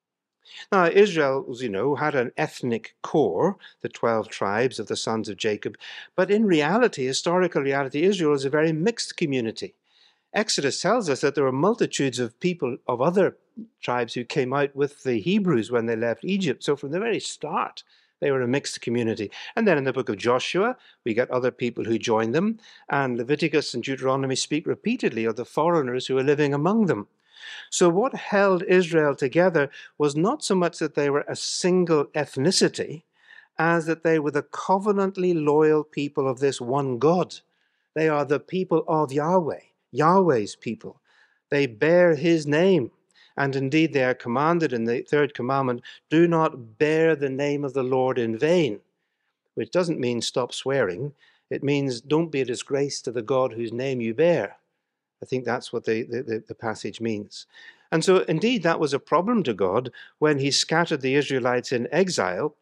Now, Israel, as you know, had an ethnic core, the twelve tribes of the sons of Jacob, but in reality, historical reality, Israel is a very mixed community. Exodus tells us that there were multitudes of people of other tribes who came out with the Hebrews when they left Egypt. So from the very start, they were a mixed community. And then in the book of Joshua, we get other people who join them. And Leviticus and Deuteronomy speak repeatedly of the foreigners who are living among them. So what held Israel together was not so much that they were a single ethnicity, as that they were the covenantly loyal people of this one God. They are the people of Yahweh, Yahweh's people. They bear his name. And indeed, they are commanded in the third commandment, do not bear the name of the Lord in vain, which doesn't mean stop swearing. It means don't be a disgrace to the God whose name you bear. I think that's what the, the, the passage means. And so, indeed, that was a problem to God when he scattered the Israelites in exile,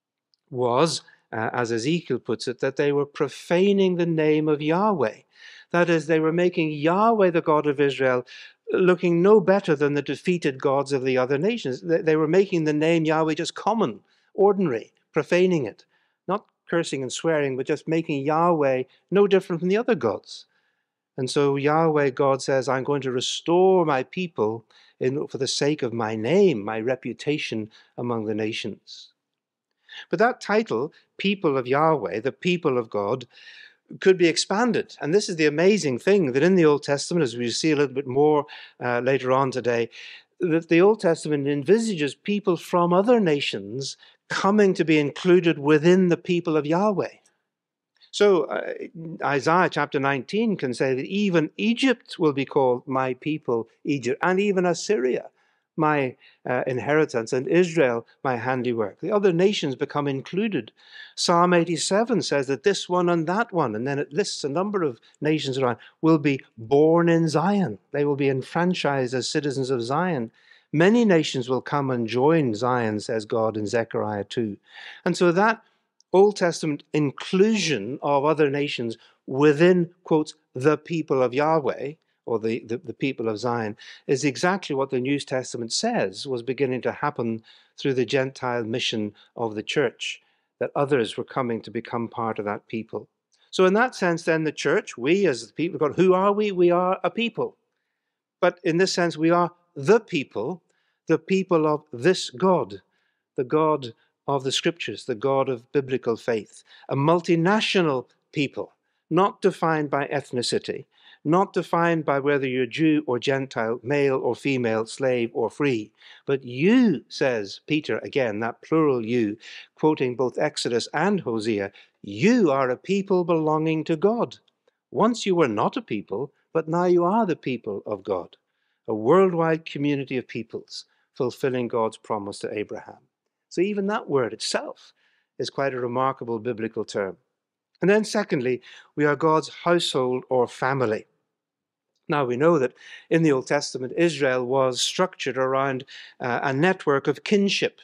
was, uh, as Ezekiel puts it, that they were profaning the name of Yahweh. That is, they were making Yahweh, the God of Israel, looking no better than the defeated gods of the other nations. They, they were making the name Yahweh just common, ordinary, profaning it. Not cursing and swearing, but just making Yahweh no different from the other gods. And so Yahweh, God says, I'm going to restore my people in, for the sake of my name, my reputation among the nations. But that title, people of Yahweh, the people of God, could be expanded. And this is the amazing thing, that in the Old Testament, as we see a little bit more uh, later on today, that the Old Testament envisages people from other nations coming to be included within the people of Yahweh. So uh, Isaiah chapter nineteen can say that even Egypt will be called my people, Egypt, and even Assyria, my uh, inheritance, and Israel, my handiwork. The other nations become included. Psalm eighty-seven says that this one and that one, and then it lists a number of nations around, will be born in Zion. They will be enfranchised as citizens of Zion. Many nations will come and join Zion, says God in Zechariah two. And so that Old Testament inclusion of other nations within, quotes, the people of Yahweh, or the, the, the people of Zion, is exactly what the New Testament says was beginning to happen through the Gentile mission of the church. that others were coming to become part of that people. So in that sense, then, the church, we as the people of God, who are we? We are a people. But in this sense, we are the people, the people of this God, the God of the Scriptures, the God of biblical faith, a multinational people, not defined by ethnicity, not defined by whether you're Jew or Gentile, male or female, slave or free. But you, says Peter, again, that plural you, quoting both Exodus and Hosea, you are a people belonging to God. Once you were not a people, but now you are the people of God, a worldwide community of peoples fulfilling God's promise to Abraham. So even that word itself is quite a remarkable biblical term. And then secondly, we are God's household or family. Now we know that in the Old Testament, Israel was structured around uh, a network of kinship.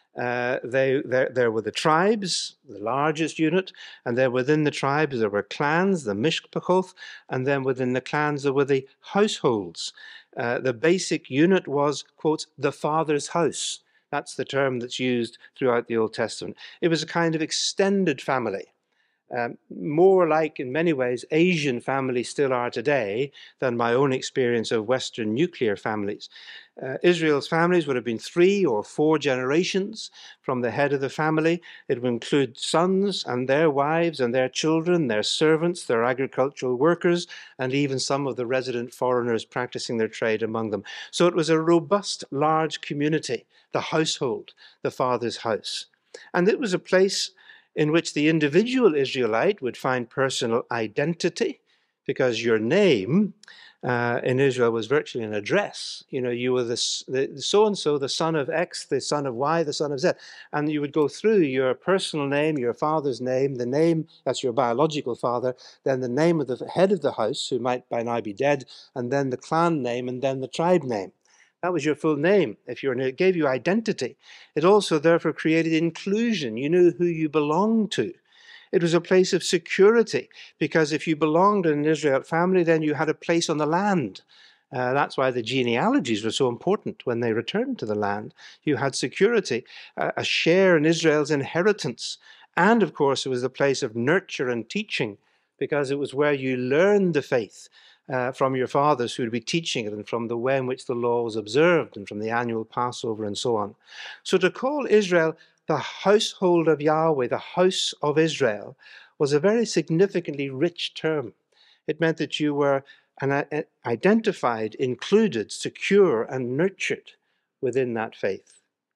Uh, they, there, there were the tribes, the largest unit, and then within the tribes there were clans, the mishpachoth, and then within the clans there were the households. Uh, the basic unit was, quote, the father's house. That's the term that's used throughout the Old Testament. It was a kind of extended family. Um, more like, in many ways, Asian families still are today than my own experience of Western nuclear families. Uh, Israel's families would have been three or four generations from the head of the family. It would include sons and their wives and their children, their servants, their agricultural workers, and even some of the resident foreigners practicing their trade among them. So it was a robust, large community, the household, the father's house. And it was a place in which the individual Israelite would find personal identity, because your name uh, in Israel was virtually an address. You know, you were the, the so-and-so, the son of X, the son of Y, the son of Z. And you would go through your personal name, your father's name, the name, that's your biological father, then the name of the head of the house, who might by now be dead, and then the clan name, and then the tribe name. That was your full name. If you were, it gave you identity. It also therefore created inclusion. You knew who you belonged to. It was a place of security, because if you belonged in an Israelite family, then you had a place on the land. Uh, that's why the genealogies were so important when they returned to the land. You had security, uh, a share in Israel's inheritance. And of course, it was a place of nurture and teaching, because it was where you learned the faith. Uh, from your fathers who would be teaching it, and from the way in which the law was observed, and from the annual Passover and so on. So to call Israel the household of Yahweh, the house of Israel, was a very significantly rich term. It meant that you were an, uh, identified, included, secure, and nurtured within that faith.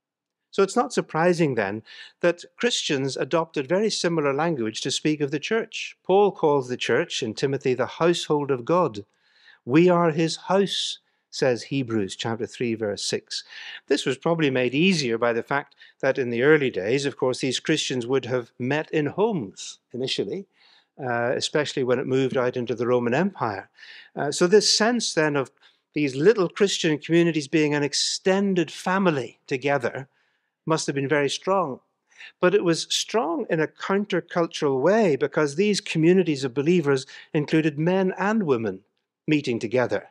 So it's not surprising then that Christians adopted very similar language to speak of the church. Paul calls the church in Timothy the household of God. We are his house, says Hebrews chapter three, verse six. This was probably made easier by the fact that in the early days, of course, these Christians would have met in homes initially, uh, especially when it moved out into the Roman Empire. Uh, so this sense then of these little Christian communities being an extended family together must have been very strong. But it was strong in a countercultural way, because these communities of believers included men and women meeting together,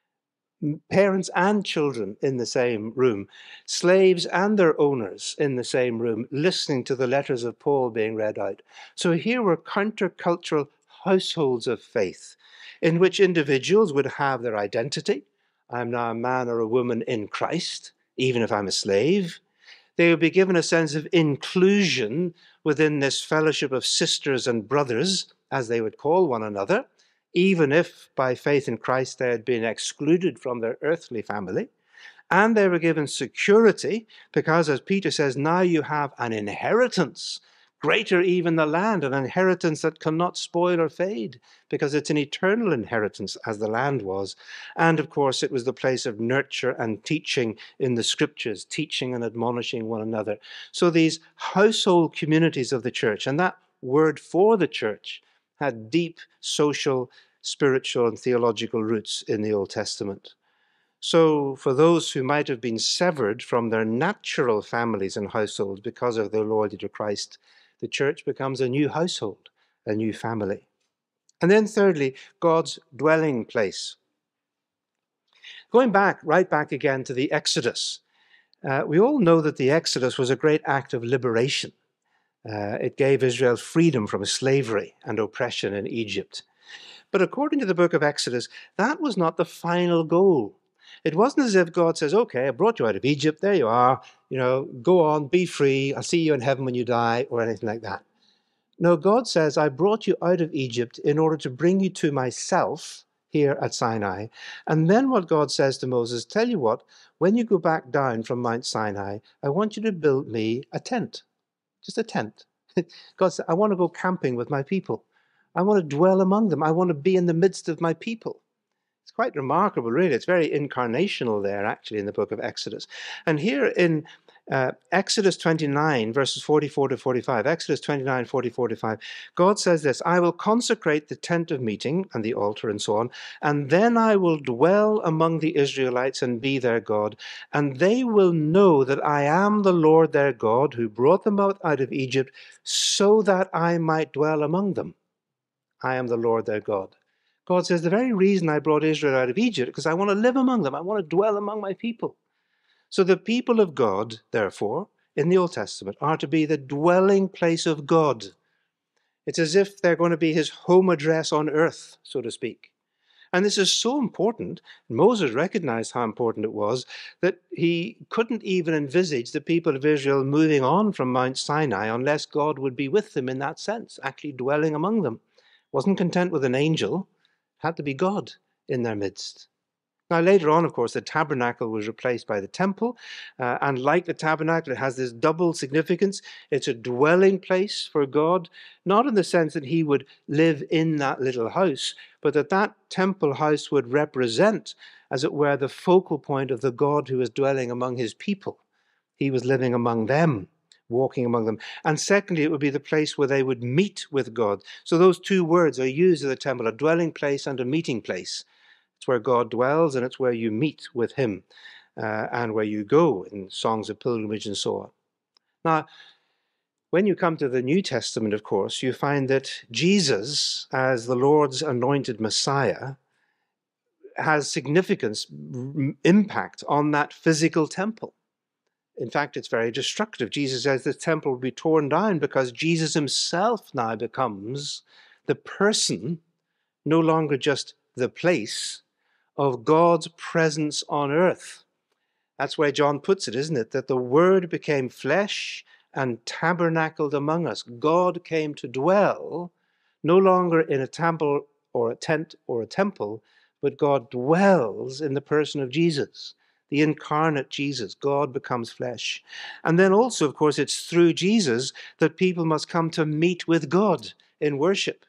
parents and children in the same room, slaves and their owners in the same room, listening to the letters of Paul being read out. So here were countercultural households of faith in which individuals would have their identity. I'm now a man or a woman in Christ, even if I'm a slave. They would be given a sense of inclusion within this fellowship of sisters and brothers, as they would call one another, even if by faith in Christ they had been excluded from their earthly family. And they were given security, because, as Peter says, now you have an inheritance, greater even the land, an inheritance that cannot spoil or fade, because it's an eternal inheritance, as the land was. And of course, it was the place of nurture and teaching in the scriptures, teaching and admonishing one another. So these household communities of the church, and that word for the church, had deep social, spiritual, and theological roots in the Old Testament. So for those who might have been severed from their natural families and households because of their loyalty to Christ, the church becomes a new household, a new family. And then thirdly, God's dwelling place. Going back, right back again to the Exodus, uh, we all know that the Exodus was a great act of liberation. Uh, it gave Israel freedom from slavery and oppression in Egypt. But according to the book of Exodus, that was not the final goal. It wasn't as if God says, okay, I brought you out of Egypt, there you are, you know, go on, be free, I'll see you in heaven when you die, or anything like that. No, God says, I brought you out of Egypt in order to bring you to myself here at Sinai. And then what God says to Moses, tell you what, when you go back down from Mount Sinai, I want you to build me a tent, just a tent. God said, I want to go camping with my people. I want to dwell among them. I want to be in the midst of my people. It's quite remarkable, really. It's very incarnational there, actually, in the book of Exodus. And here in uh, Exodus twenty-nine, verses forty-four to forty-five, Exodus twenty-nine, forty-four to forty-five, God says this, I will consecrate the tent of meeting and the altar and so on, and then I will dwell among the Israelites and be their God, and they will know that I am the Lord their God who brought them out, out of Egypt so that I might dwell among them. I am the Lord their God. God says, the very reason I brought Israel out of Egypt, because I want to live among them. I want to dwell among my people. So the people of God, therefore, in the Old Testament, are to be the dwelling place of God. It's as if they're going to be his home address on earth, so to speak. And this is so important. Moses recognized how important it was that he couldn't even envisage the people of Israel moving on from Mount Sinai unless God would be with them in that sense, actually dwelling among them. Wasn't content with an angel, had to be God in their midst. Now, later on, of course, the tabernacle was replaced by the temple. Uh, and like the tabernacle, it has this double significance. It's a dwelling place for God, not in the sense that he would live in that little house, but that that temple house would represent, as it were, the focal point of the God who is dwelling among his people. He was living among them, walking among them. And secondly, it would be the place where they would meet with God. So those two words are used in the temple, a dwelling place and a meeting place. It's where God dwells, and it's where you meet with him, uh, and where you go in songs of pilgrimage and so on. Now, when you come to the New Testament, of course, you find that Jesus, as the Lord's anointed Messiah, has significance, impact on that physical temple. In fact, it's very destructive. Jesus says the temple will be torn down because Jesus himself now becomes the person, no longer just the place, of God's presence on earth. That's where John puts it, isn't it? That the Word became flesh and tabernacled among us. God came to dwell, no longer in a temple or a tent or a temple, but God dwells in the person of Jesus. The incarnate Jesus, God becomes flesh. And then also, of course, it's through Jesus that people must come to meet with God in worship.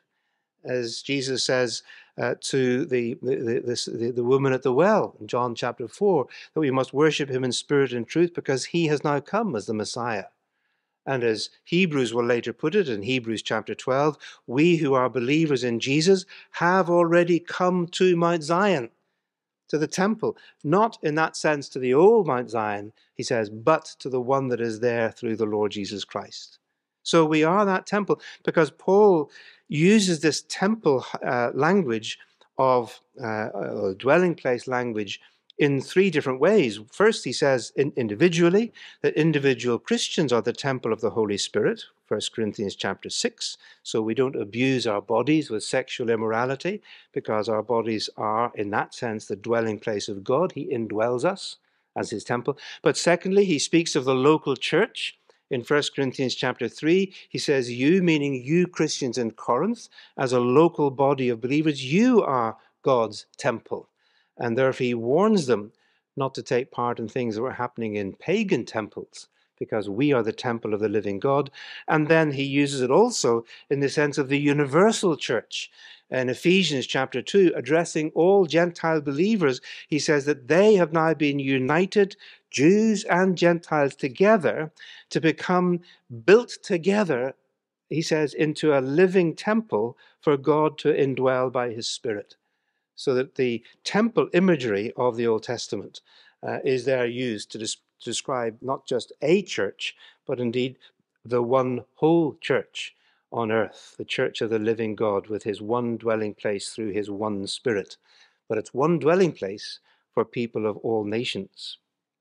As Jesus says uh, to the, the, this, the, the woman at the well in John chapter four, that we must worship him in spirit and truth because he has now come as the Messiah. And as Hebrews will later put it in Hebrews chapter twelve, we who are believers in Jesus have already come to Mount Zion, to the temple, not in that sense to the old Mount Zion, he says, but to the one that is there through the Lord Jesus Christ. So we are that temple because Paul uses this temple uh, language of uh, dwelling place language in three different ways. First, he says in individually that individual Christians are the temple of the Holy Spirit, First Corinthians chapter six. So we don't abuse our bodies with sexual immorality because our bodies are, in that sense, the dwelling place of God. He indwells us as his temple. But secondly, he speaks of the local church. In First Corinthians chapter three, he says, you, meaning you Christians in Corinth, as a local body of believers, you are God's temple. And therefore he warns them not to take part in things that were happening in pagan temples, because we are the temple of the living God. And then he uses it also in the sense of the universal church. In Ephesians chapter two, addressing all Gentile believers, he says that they have now been united, Jews and Gentiles together, to become built together, he says, into a living temple for God to indwell by his Spirit. So that the temple imagery of the Old Testament uh, is there used to, des- to describe not just a church, but indeed the one whole church on earth, the church of the living God with his one dwelling place through his one Spirit. But it's one dwelling place for people of all nations.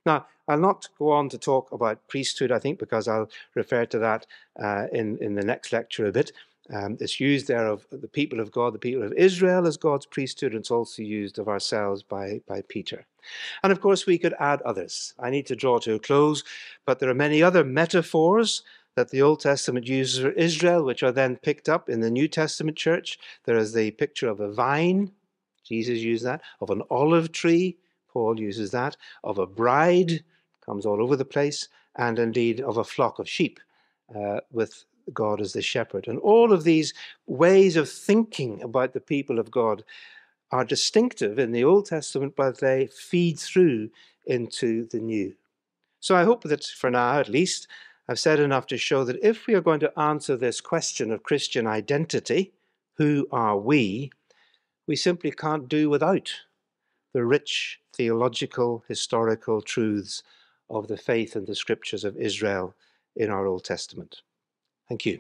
Now, I'll not go on to talk about priesthood, I think, because I'll refer to that uh, in, in the next lecture a bit. Um, it's used there of the people of God, the people of Israel as God's priesthood, and it's also used of ourselves by, by Peter. And of course, we could add others. I need to draw to a close, but there are many other metaphors that the Old Testament uses for Israel, which are then picked up in the New Testament church. There is the picture of a vine, Jesus used that, of an olive tree, Paul uses that, of a bride, comes all over the place, and indeed of a flock of sheep uh, with God as the shepherd. And all of these ways of thinking about the people of God are distinctive in the Old Testament, but they feed through into the New. So I hope that for now, at least, I've said enough to show that if we are going to answer this question of Christian identity, who are we, we simply can't do without the rich theological, historical truths of the faith and the scriptures of Israel in our Old Testament. Thank you.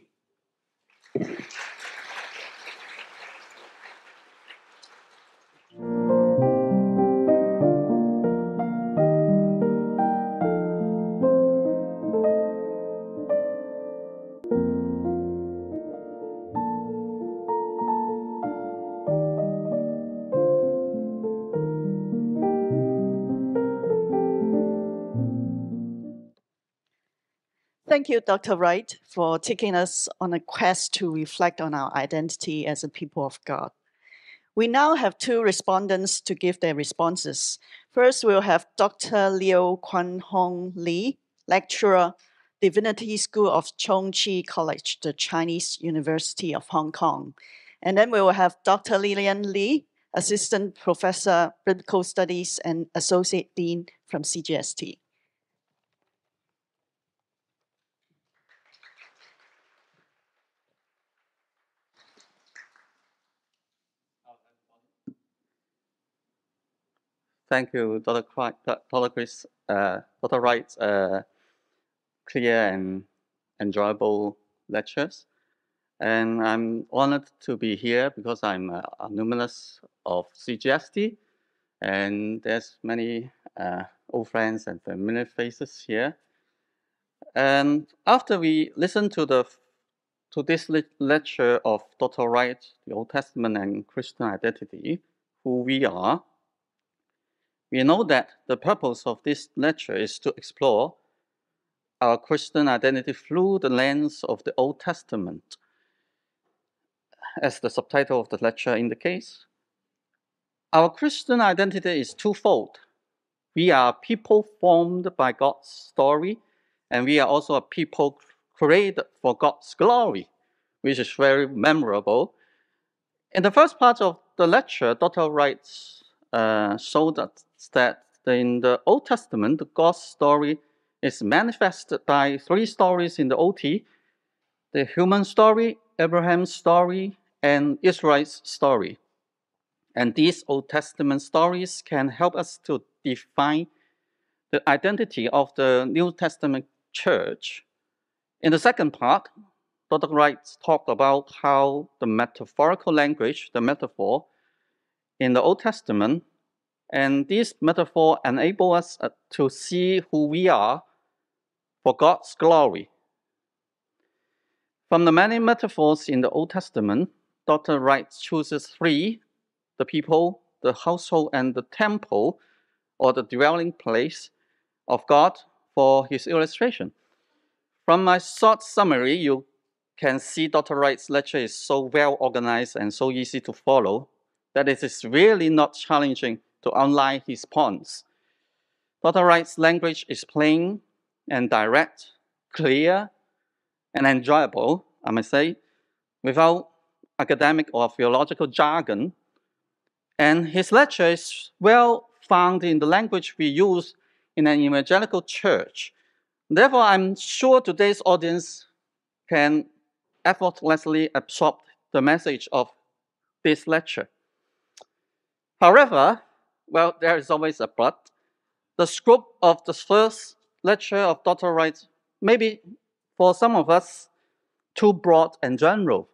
Thank you, Doctor Wright, for taking us on a quest to reflect on our identity as a people of God. We now have two respondents to give their responses. First, we'll have Doctor Liu Kun Hong Lee, lecturer, Divinity School of Chung Chi College, the Chinese University of Hong Kong. And then we will have Doctor Lillian Lee, assistant professor, biblical studies, and associate dean from C G S T. Thank you, Doctor Doctor Chris, uh, Doctor Wright's uh, clear and enjoyable lectures. And I'm honored to be here because I'm an alumnus of C G S T, and there's many uh, old friends and familiar faces here. And after we listen to the to this lecture of Doctor Wright, the Old Testament and Christian identity, who we are, we know that the purpose of this lecture is to explore our Christian identity through the lens of the Old Testament. As the subtitle of the lecture indicates, our Christian identity is twofold. We are people formed by God's story, and we are also a people created for God's glory, which is very memorable. In the first part of the lecture, Doctor Wright uh, showed us that in the Old Testament, God's story is manifested by three stories in the O T: the human story, Abraham's story, and Israel's story. And these Old Testament stories can help us to define the identity of the New Testament church. In the second part, Doctor Wright talked about how the metaphorical language, the metaphor in the Old Testament, and this metaphor enable us to see who we are for God's glory. From the many metaphors in the Old Testament, Doctor Wright chooses three: the people, the household, and the temple, or the dwelling place of God, for his illustration. From my short summary, you can see Doctor Wright's lecture is so well organized and so easy to follow that it is really not challenging to outline his points. Doctor Wright's language is plain and direct, clear, and enjoyable, I must say, without academic or theological jargon. And his lecture is well found in the language we use in an evangelical church. Therefore, I'm sure today's audience can effortlessly absorb the message of this lecture. However, well, there is always a but. The scope of the first lecture of Doctor Wright may be, for some of us, too broad and general.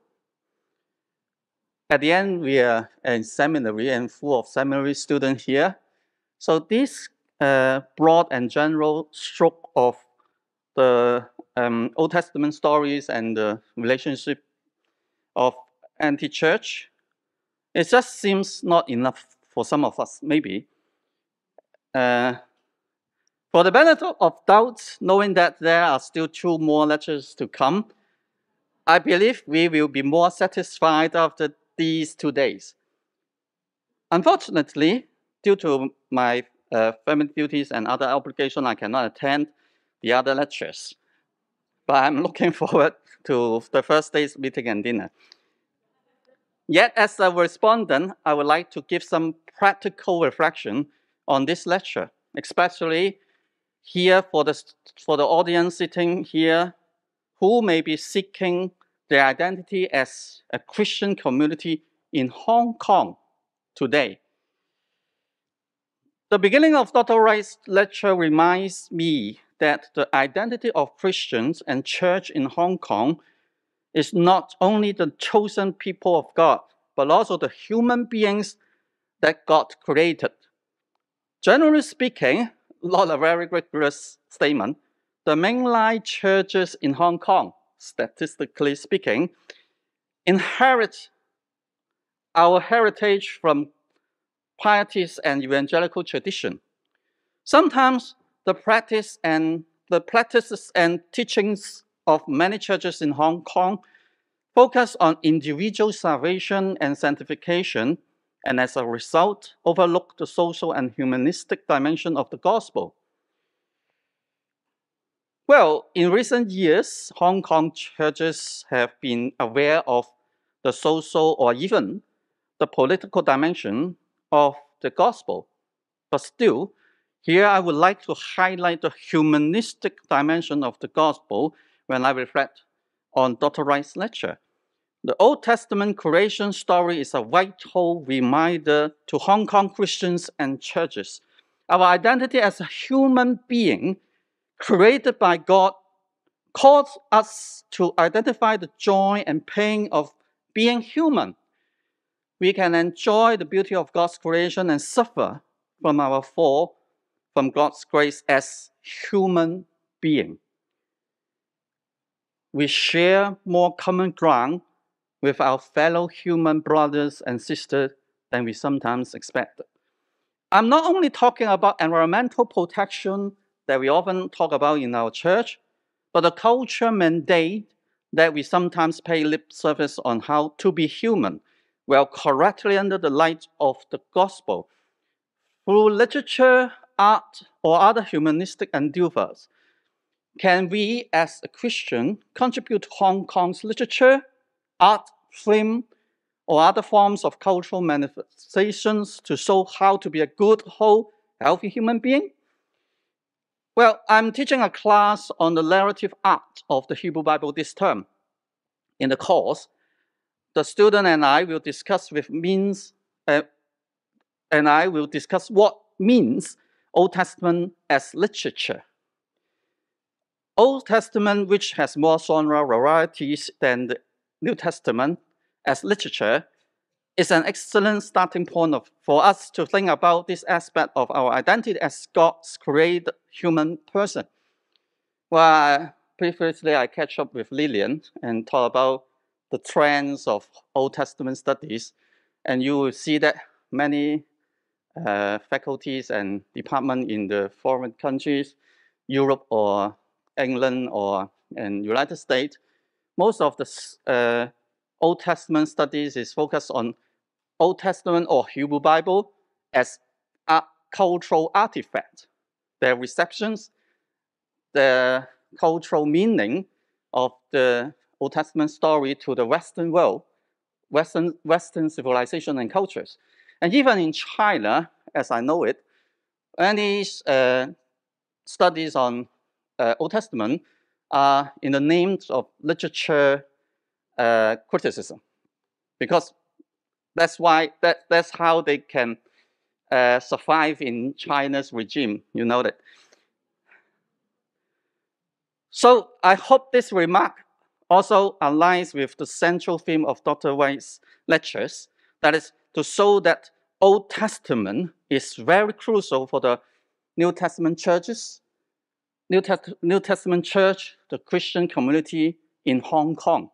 At the end, we are in seminary and full of seminary students here. So this uh, broad and general stroke of the um, Old Testament stories and the relationship of anti-church, it just seems not enough for some of us, maybe. Uh, for the benefit of doubt, knowing that there are still two more lectures to come, I believe we will be more satisfied after these two days. Unfortunately, due to my uh, family duties and other obligations, I cannot attend the other lectures. But I'm looking forward to the first day's meeting and dinner. Yet, as a respondent, I would like to give some practical reflection on this lecture, especially here for the, for the audience sitting here who may be seeking their identity as a Christian community in Hong Kong today. The beginning of Doctor Wright's lecture reminds me that the identity of Christians and church in Hong Kong is not only the chosen people of God, but also the human beings that God created. Generally speaking, not a very rigorous statement, the mainline churches in Hong Kong, statistically speaking, inherit our heritage from pietist and evangelical tradition. Sometimes the practice and the practices and teachings of many churches in Hong Kong focus on individual salvation and sanctification, and as a result, overlook the social and humanistic dimension of the gospel. Well, in recent years, Hong Kong churches have been aware of the social or even the political dimension of the gospel. But still, here I would like to highlight the humanistic dimension of the gospel when I reflect on Doctor Wright's lecture. The Old Testament creation story is a vital reminder to Hong Kong Christians and churches. Our identity as a human being created by God calls us to identify the joy and pain of being human. We can enjoy the beauty of God's creation and suffer from our fall from God's grace as human beings. We share more common ground with our fellow human brothers and sisters than we sometimes expect. I'm not only talking about environmental protection that we often talk about in our church, but the culture mandate that we sometimes pay lip service on how to be human, well, correctly under the light of the gospel. Through literature, art, or other humanistic endeavors, can we as a Christian contribute to Hong Kong's literature, art, film, or other forms of cultural manifestations to show how to be a good, whole, healthy human being? Well, I'm teaching a class on the narrative art of the Hebrew Bible this term. In the course, the student and I will discuss with means, uh, and I will discuss what means Old Testament as literature. Old Testament, which has more genre varieties than the New Testament as literature, is an excellent starting point of, for us to think about this aspect of our identity as God's created human person. Well, previously I catch up with Lillian and talk about the trends of Old Testament studies, and you will see that many uh, faculties and departments in the foreign countries, Europe or England or in United States, most of the uh, Old Testament studies is focused on Old Testament or Hebrew Bible as a cultural artifact, their receptions, the cultural meaning of the Old Testament story to the Western world, Western, Western civilization and cultures. And even in China, as I know it, any uh, studies on uh, Old Testament are in the names of literature uh, criticism, because that's why that, that's how they can uh, survive in China's regime. You know that. So I hope this remark also aligns with the central theme of Doctor Wright's lectures, that is to show that Old Testament is very crucial for the New Testament churches, New, Test New Testament church, the Christian community in Hong Kong.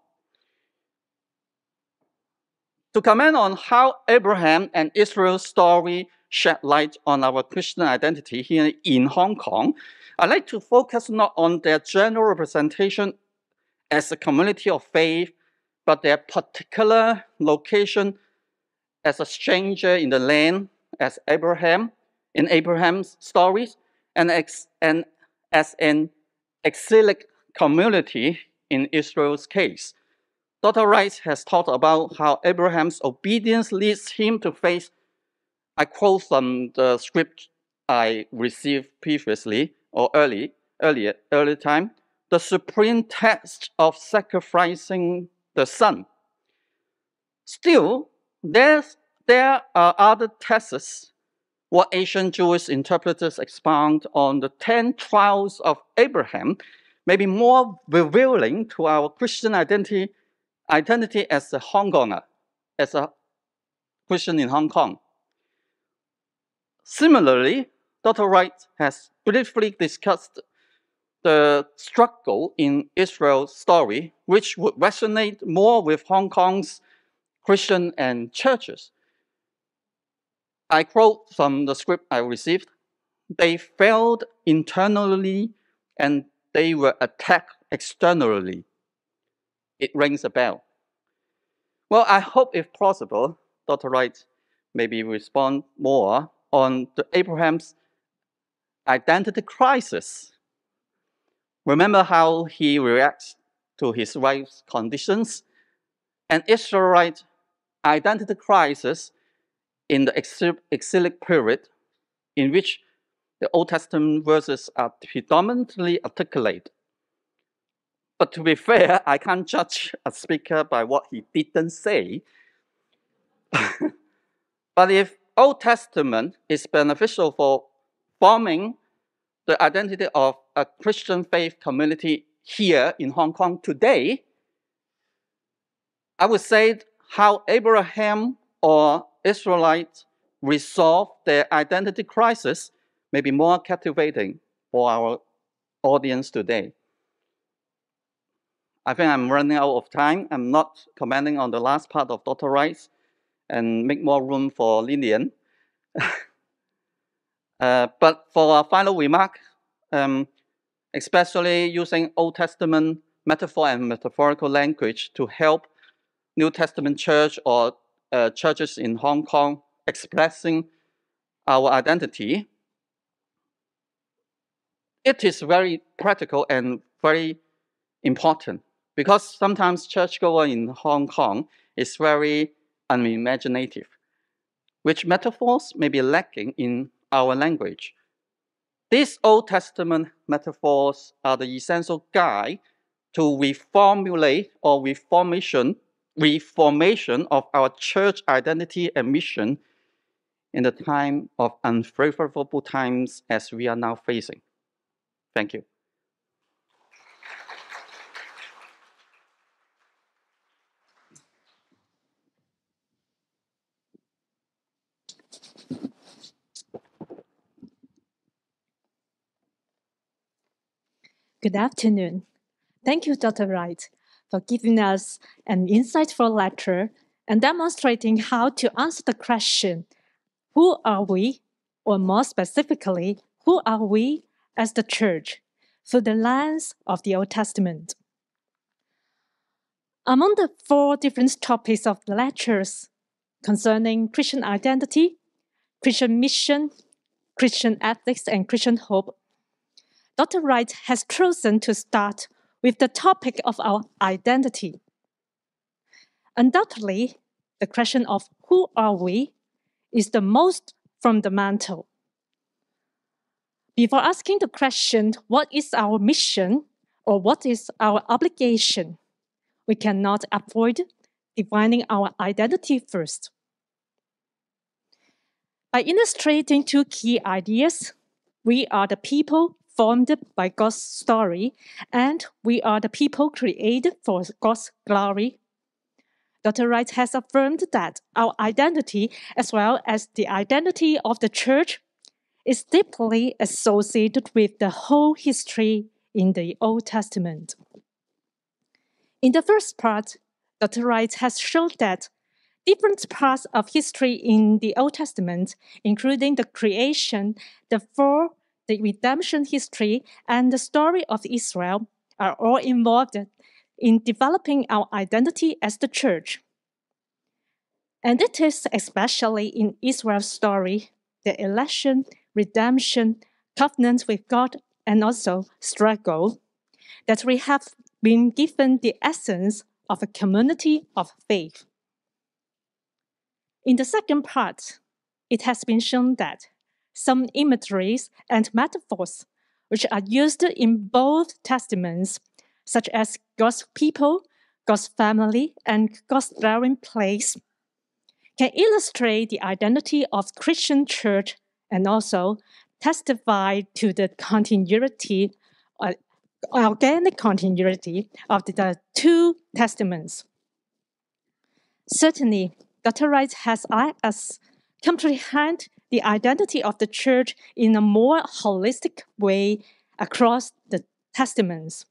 To comment on how Abraham and Israel's story shed light on our Christian identity here in Hong Kong, I'd like to focus not on their general representation as a community of faith, but their particular location as a stranger in the land, as Abraham, in Abraham's stories, and, ex and as an exilic community in Israel's case. Doctor Wright has talked about how Abraham's obedience leads him to face, I quote from the script I received previously or early, earlier, early time, the supreme test of sacrificing the son. Still, there's, there are other tests. What Asian Jewish interpreters expound on the ten trials of Abraham may be more revealing to our Christian identity, identity as a Hong Konger, as a Christian in Hong Kong. Similarly, Doctor Wright has briefly discussed the struggle in Israel's story, which would resonate more with Hong Kong's Christian and churches. I quote from the script I received, "They failed internally and they were attacked externally." It rings a bell. Well, I hope if possible, Doctor Wright maybe respond more on the Abraham's identity crisis. Remember how he reacts to his wife's conditions? An Israelite identity crisis in the exilic period in which the Old Testament verses are predominantly articulated. But to be fair, I can't judge a speaker by what he didn't say. But if Old Testament is beneficial for forming the identity of a Christian faith community here in Hong Kong today, I would say how Abraham or Israelites resolve their identity crisis may be more captivating for our audience today. I think I'm running out of time. I'm not commenting on the last part of Doctor Wright's and make more room for Lillian. uh, but for our final remark, um, especially using Old Testament metaphor and metaphorical language to help New Testament church or uh, churches in Hong Kong expressing our identity, it is very practical and very important because sometimes churchgoer in Hong Kong is very unimaginative, which metaphors may be lacking in our language. These Old Testament metaphors are the essential guide to reformulate or reformation, reformation of our church identity and mission in the time of unfavorable times as we are now facing. Thank you. Good afternoon. Thank you, Doctor Wright, for giving us an insightful lecture and demonstrating how to answer the question, who are we, or more specifically, who are we as the church, through the lens of the Old Testament. Among the four different topics of the lectures concerning Christian identity, Christian mission, Christian ethics, and Christian hope, Doctor Wright has chosen to start with the topic of our identity. Undoubtedly, the question of who are we is the most fundamental. Before asking the question, what is our mission or what is our obligation, we cannot avoid defining our identity first. By illustrating two key ideas, we are the people formed by God's story, and we are the people created for God's glory. Doctor Wright has affirmed that our identity, as well as the identity of the church, is deeply associated with the whole history in the Old Testament. In the first part, Doctor Wright has shown that different parts of history in the Old Testament, including the creation, the fall, the redemption history, and the story of Israel, are all involved in developing our identity as the church. And it is especially in Israel's story, the election, redemption, covenant with God, and also struggle, that we have been given the essence of a community of faith. In the second part, it has been shown that some imageries and metaphors which are used in both testaments, such as God's people, God's family, and God's dwelling place, can illustrate the identity of the Christian church and also testify to the continuity, uh, organic continuity of the, the two testaments. Certainly, Doctor Wright has helped us comprehend the identity of the church in a more holistic way across the testaments.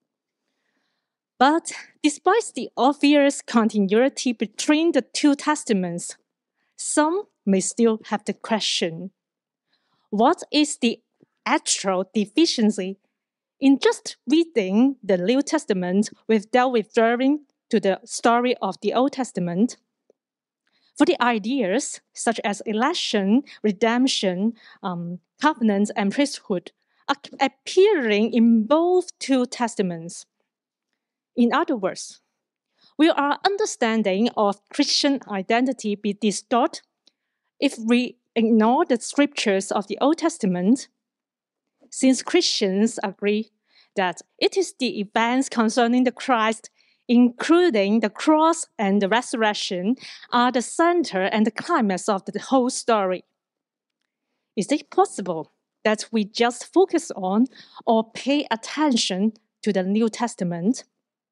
But despite the obvious continuity between the two testaments, some may still have the question, what is the actual deficiency in just reading the New Testament without referring to the story of the Old Testament? For the ideas such as election, redemption, um, covenant, and priesthood are appearing in both two testaments. In other words, will our understanding of Christian identity be distorted if we ignore the scriptures of the Old Testament? Since Christians agree that it is the events concerning the Christ, including the cross and the resurrection, are the center and the climax of the whole story. Is it possible that we just focus on or pay attention to the New Testament?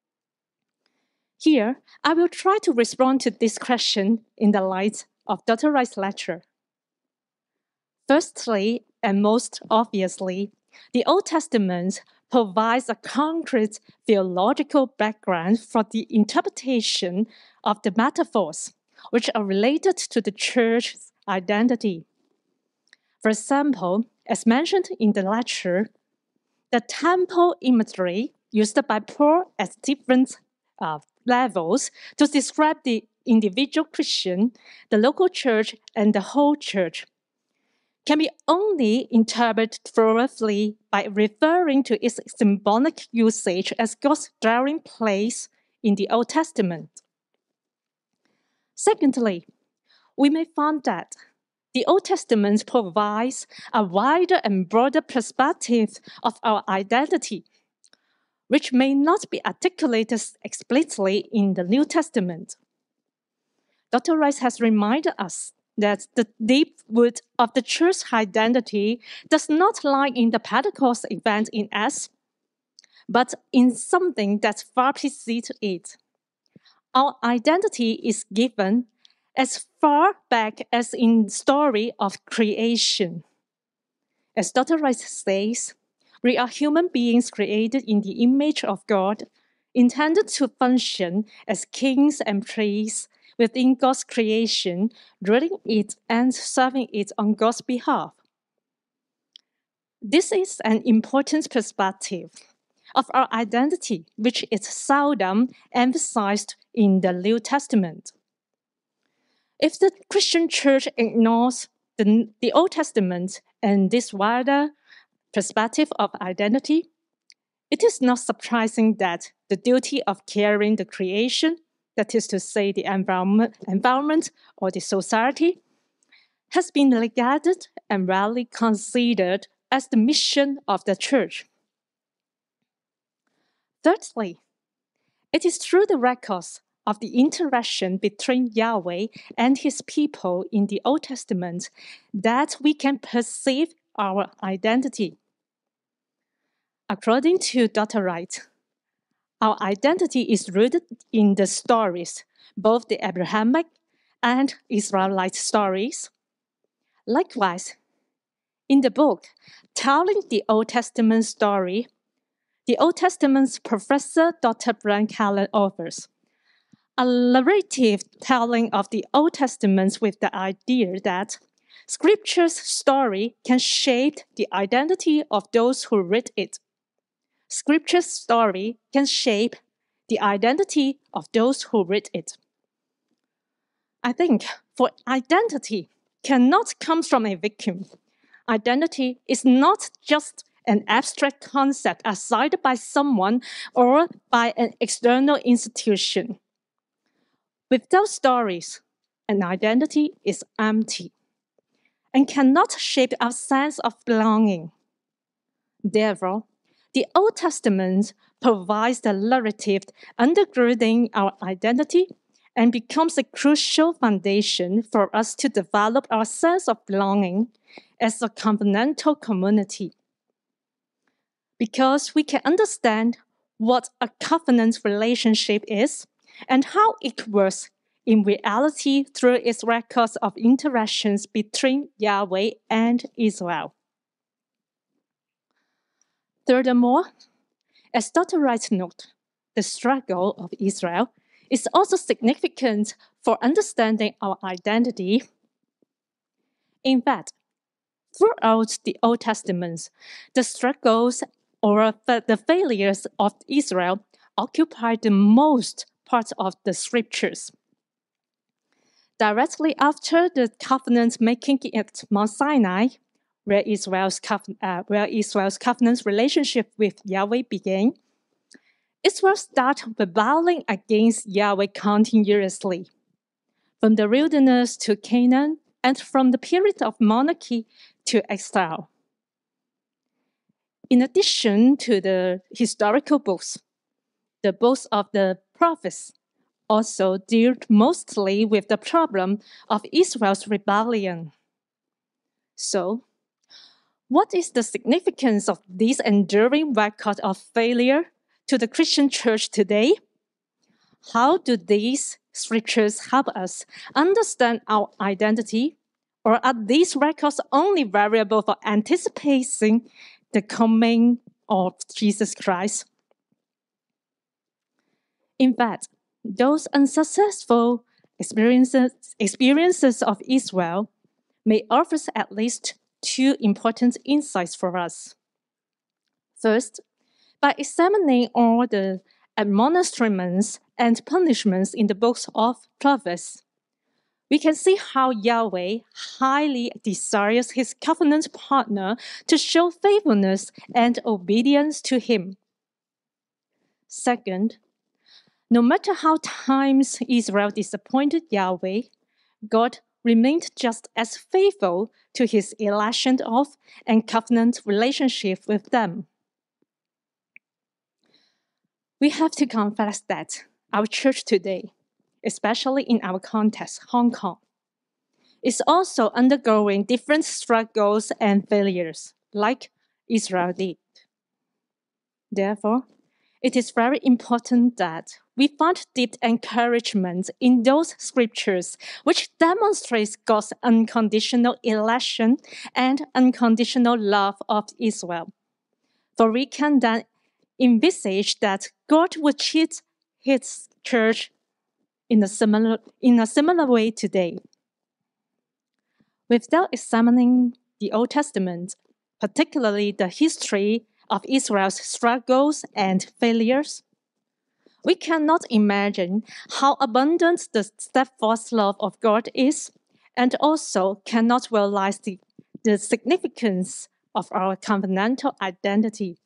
Here, I will try to respond to this question in the light of Doctor Wright's lecture. Firstly, and most obviously, the Old Testament provides a concrete theological background for the interpretation of the metaphors, which are related to the church's identity. For example, as mentioned in the lecture, the temple imagery used by Paul at different uh, levels to describe the individual Christian, the local church, and the whole church can be only interpreted thoroughly by referring to its symbolic usage as God's dwelling place in the Old Testament. Secondly, we may find that the Old Testament provides a wider and broader perspective of our identity, which may not be articulated explicitly in the New Testament. Doctor Wright has reminded us that the deep root of the church's identity does not lie in the Pentecost event in Acts, but in something that far precedes it. Our identity is given as far back as in the story of creation. As Doctor Wright says, we are human beings created in the image of God, intended to function as kings and priests within God's creation, ruling it and serving it on God's behalf. This is an important perspective of our identity, which is seldom emphasized in the New Testament. If the Christian church ignores the, the Old Testament and this wider perspective of identity, it is not surprising that the duty of caring the creation, that is to say the environment, environment or the society, has been neglected and rarely considered as the mission of the church. Thirdly, it is through the records of the interaction between Yahweh and his people in the Old Testament that we can perceive our identity. According to Doctor Wright, our identity is rooted in the stories, both the Abrahamic and Israelite stories. Likewise, In the book, Telling the Old Testament Story, the Old Testament's professor Doctor Brian Callen offers a narrative telling of the Old Testament with the idea that Scripture's story can shape the identity of those who read it. Scripture's story can shape the identity of those who read it. I think for identity cannot come from a vacuum. Identity is not just an abstract concept assigned by someone or by an external institution. Without stories, an identity is empty and cannot shape our sense of belonging. Therefore, the Old Testament provides the narrative undergirding our identity and becomes a crucial foundation for us to develop our sense of belonging as a covenantal community. Because we can understand what a covenant relationship is and how it works in reality through its records of interactions between Yahweh and Israel. Furthermore, as Doctor Wright noted, the struggle of Israel is also significant for understanding our identity. In fact, throughout the Old Testament, the struggles or the failures of Israel occupy the most part of the scriptures. Directly after the covenant making at Mount Sinai, where Israel's, uh, where Israel's covenant relationship with Yahweh began, Israel started rebelling against Yahweh continuously. From the wilderness to Canaan, and from the period of monarchy to exile. In addition to the historical books, the books of the prophets also dealt mostly with the problem of Israel's rebellion. So, what is the significance of this enduring record of failure to the Christian church today? How do these scriptures help us understand our identity? Or are these records only variable for anticipating the coming of Jesus Christ? In fact, those unsuccessful experiences, experiences of Israel may offer at least two important insights for us. First, by examining all the admonishments and punishments in the books of prophets, we can see how Yahweh highly desires his covenant partner to show faithfulness and obedience to him. Second, no matter how times Israel disappointed Yahweh, God remained just as faithful to his election of and covenant relationship with them. We have to confess that our church today, especially in our context, Hong Kong, is also undergoing different struggles and failures, like Israel did. Therefore, it is very important that we find deep encouragement in those scriptures which demonstrates God's unconditional election and unconditional love of Israel. For we can then envisage that God would treat his church in a similar, in a similar way today. Without examining the Old Testament, particularly the history of Israel's struggles and failures, we cannot imagine how abundant the steadfast love of God is, and also cannot realize the, the significance of our covenantal identity.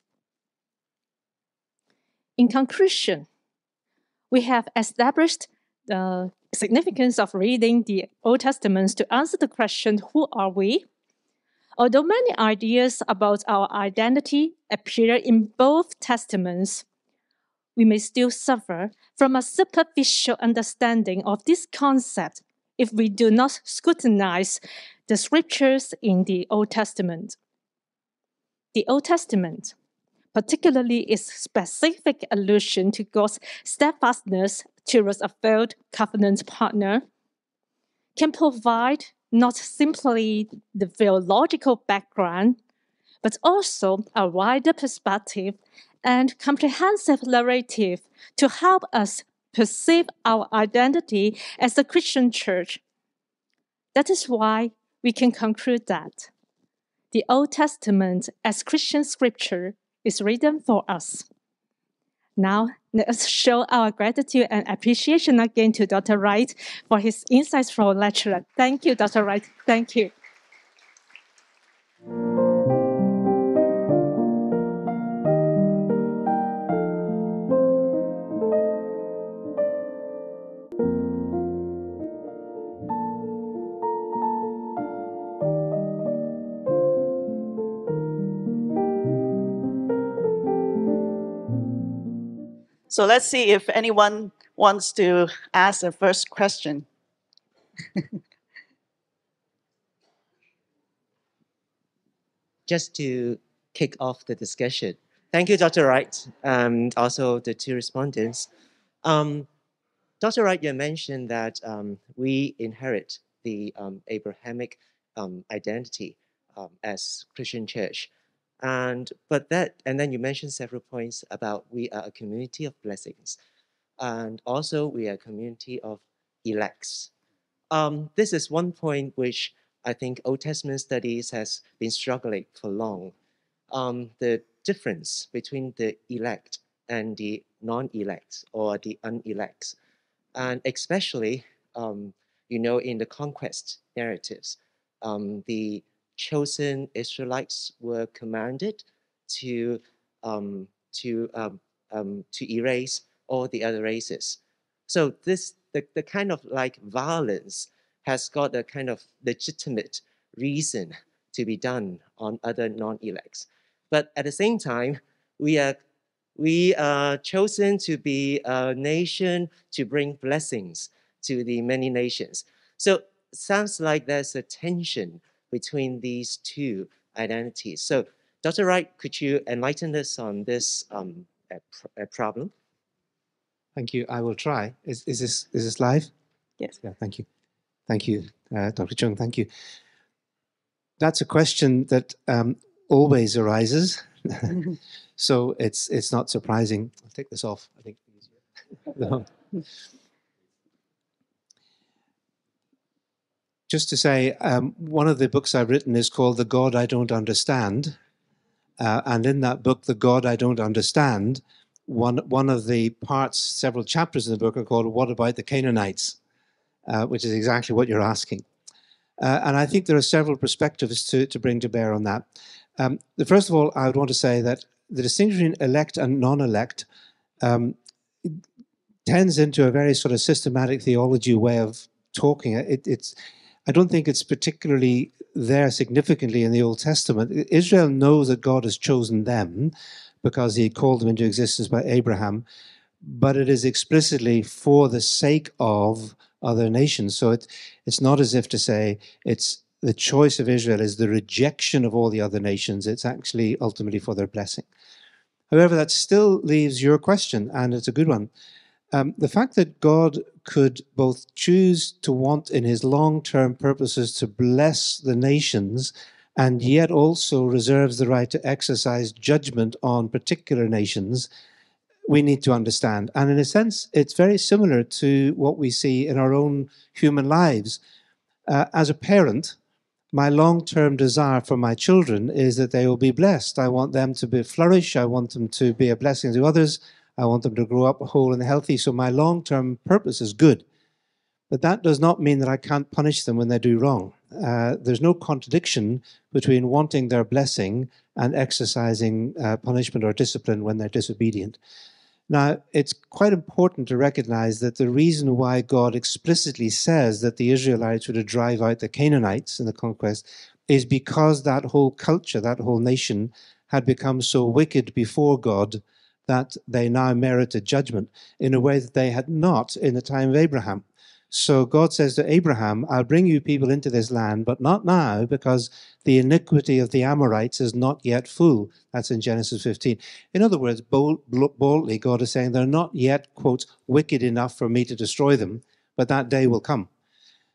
In conclusion, we have established the significance of reading the Old Testament to answer the question, who are we? Although many ideas about our identity appear in both testaments, we may still suffer from a superficial understanding of this concept if we do not scrutinize the scriptures in the Old Testament. The Old Testament, particularly its specific allusion to God's steadfastness towards a failed covenant partner, can provide not simply the theological background, but also a wider perspective and comprehensive narrative to help us perceive our identity as a Christian church. That is why we can conclude that the Old Testament as Christian scripture is written for us. Now, let us show our gratitude and appreciation again to Doctor Wright for his insights from lecture. Thank you, Doctor Wright. Thank you. So let's see if anyone wants to ask the first question. Just to kick off the discussion. Thank you, Doctor Wright, and also the two respondents. Um, Doctor Wright, you mentioned that um, we inherit the um, Abrahamic um, identity um, as Christian church. And but that, and then you mentioned several points about we are a community of blessings, and also we are a community of elects. Um, this is one point which I think Old Testament studies has been struggling for long. Um, the difference between the elect and the non-elect or the unelects, and especially, um, you know, in the conquest narratives, um, the chosen Israelites were commanded to um, to um, um, to erase all the other races. So this the, the kind of like violence has got a kind of legitimate reason to be done on other non-elects. But at the same time, we are we are chosen to be a nation to bring blessings to the many nations. So it sounds like there's a tension between these two identities. So Doctor Wright, could you enlighten us on this um, a pr a problem? Thank you. I will try. Is, is, this, is this live? Yes. Yeah, thank you. Thank you, uh, Doctor Chung. Thank you. That's a question that um, always arises. So it's it's not surprising. I'll take this off, I think. No. Just to say, um, one of the books I've written is called The God I Don't Understand. Uh, and in that book, The God I Don't Understand, one, one of the parts, several chapters in the book are called What About the Canaanites? Uh, which is exactly what you're asking. Uh, and I think there are several perspectives to, to bring to bear on that. Um, the, first of all, I would want to say that the distinction between elect and non-elect um, tends into a very sort of systematic theology way of talking. It, it's, I don't think it's particularly there significantly in the Old Testament. Israel knows that God has chosen them because he called them into existence by Abraham, but it is explicitly for the sake of other nations. So it, it's not as if to say it's the choice of Israel is the rejection of all the other nations. It's actually ultimately for their blessing. However, that still leaves your question, and it's a good one. Um, the fact that God could both choose to want in his long-term purposes to bless the nations and yet also reserves the right to exercise judgment on particular nations, we need to understand. And in a sense, it's very similar to what we see in our own human lives. Uh, as a parent, my long-term desire for my children is that they will be blessed. I want them to be flourish. I want them to be a blessing to others. I want them to grow up whole and healthy. So my long-term purpose is good. But that does not mean that I can't punish them when they do wrong. Uh, there's no contradiction between wanting their blessing and exercising uh, punishment or discipline when they're disobedient. Now, it's quite important to recognize that the reason why God explicitly says that the Israelites were to drive out the Canaanites in the conquest is because that whole culture, that whole nation, had become so wicked before God that they now merited judgment in a way that they had not in the time of Abraham. So God says to Abraham, I'll bring you people into this land, but not now, because the iniquity of the Amorites is not yet full. That's in Genesis fifteen. In other words, bold, boldly, God is saying they're not yet, quote, wicked enough for me to destroy them, but that day will come.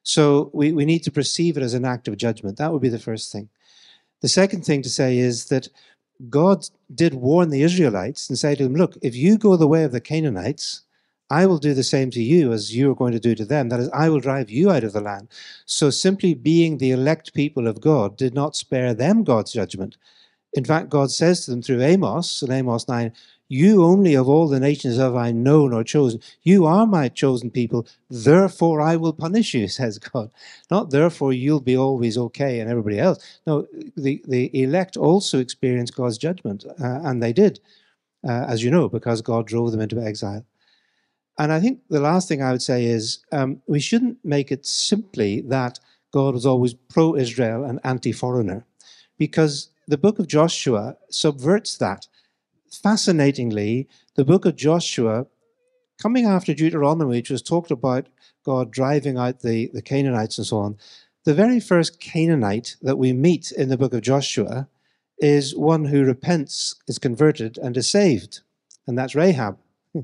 So we, we need to perceive it as an act of judgment. That would be the first thing. The second thing to say is that God did warn the Israelites and say to them, look, if you go the way of the Canaanites, I will do the same to you as you are going to do to them. That is, I will drive you out of the land. So simply being the elect people of God did not spare them God's judgment. In fact, God says to them through Amos, in Amos nine, you only of all the nations have I known or chosen. You are my chosen people, therefore I will punish you, says God. Not therefore you'll be always okay and everybody else. No, the, the elect also experienced God's judgment, uh, and they did, uh, as you know, because God drove them into exile. And I think the last thing I would say is um, we shouldn't make it simply that God was always pro-Israel and anti-foreigner, because the book of Joshua subverts that. Fascinatingly, the book of Joshua, coming after Deuteronomy, which was talked about God driving out the, the Canaanites and so on, the very first Canaanite that we meet in the book of Joshua is one who repents, is converted, and is saved, and that's Rahab.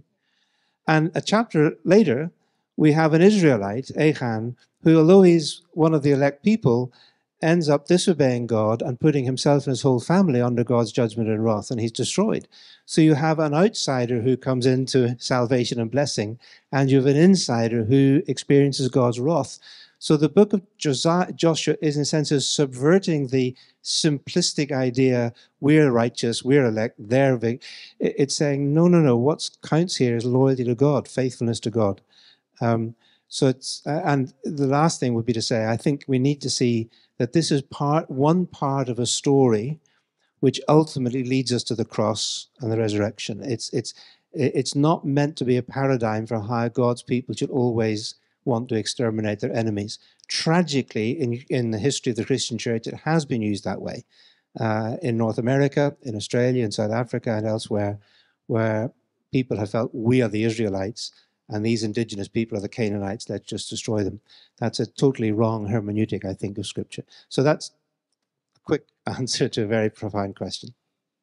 And a chapter later, we have an Israelite, Achan, who, although he's one of the elect people, ends up disobeying God and putting himself and his whole family under God's judgment and wrath, and he's destroyed. So you have an outsider who comes into salvation and blessing, and you have an insider who experiences God's wrath. So the book of Josiah, Joshua is, in a sense, is subverting the simplistic idea, we're righteous, we're elect, they're big. It's saying, no, no, no, what counts here is loyalty to God, faithfulness to God. Um, so it's, uh, and the last thing would be to say, I think we need to see that this is part, one part of a story which ultimately leads us to the cross and the resurrection. It's, it's, it's not meant to be a paradigm for how God's people should always want to exterminate their enemies. Tragically, in, in the history of the Christian church, it has been used that way. Uh, in North America, in Australia, in South Africa, and elsewhere, where people have felt, we are the Israelites, and these indigenous people are the Canaanites, let's just destroy them. That's a totally wrong hermeneutic, I think, of Scripture. So that's a quick answer to a very profound question.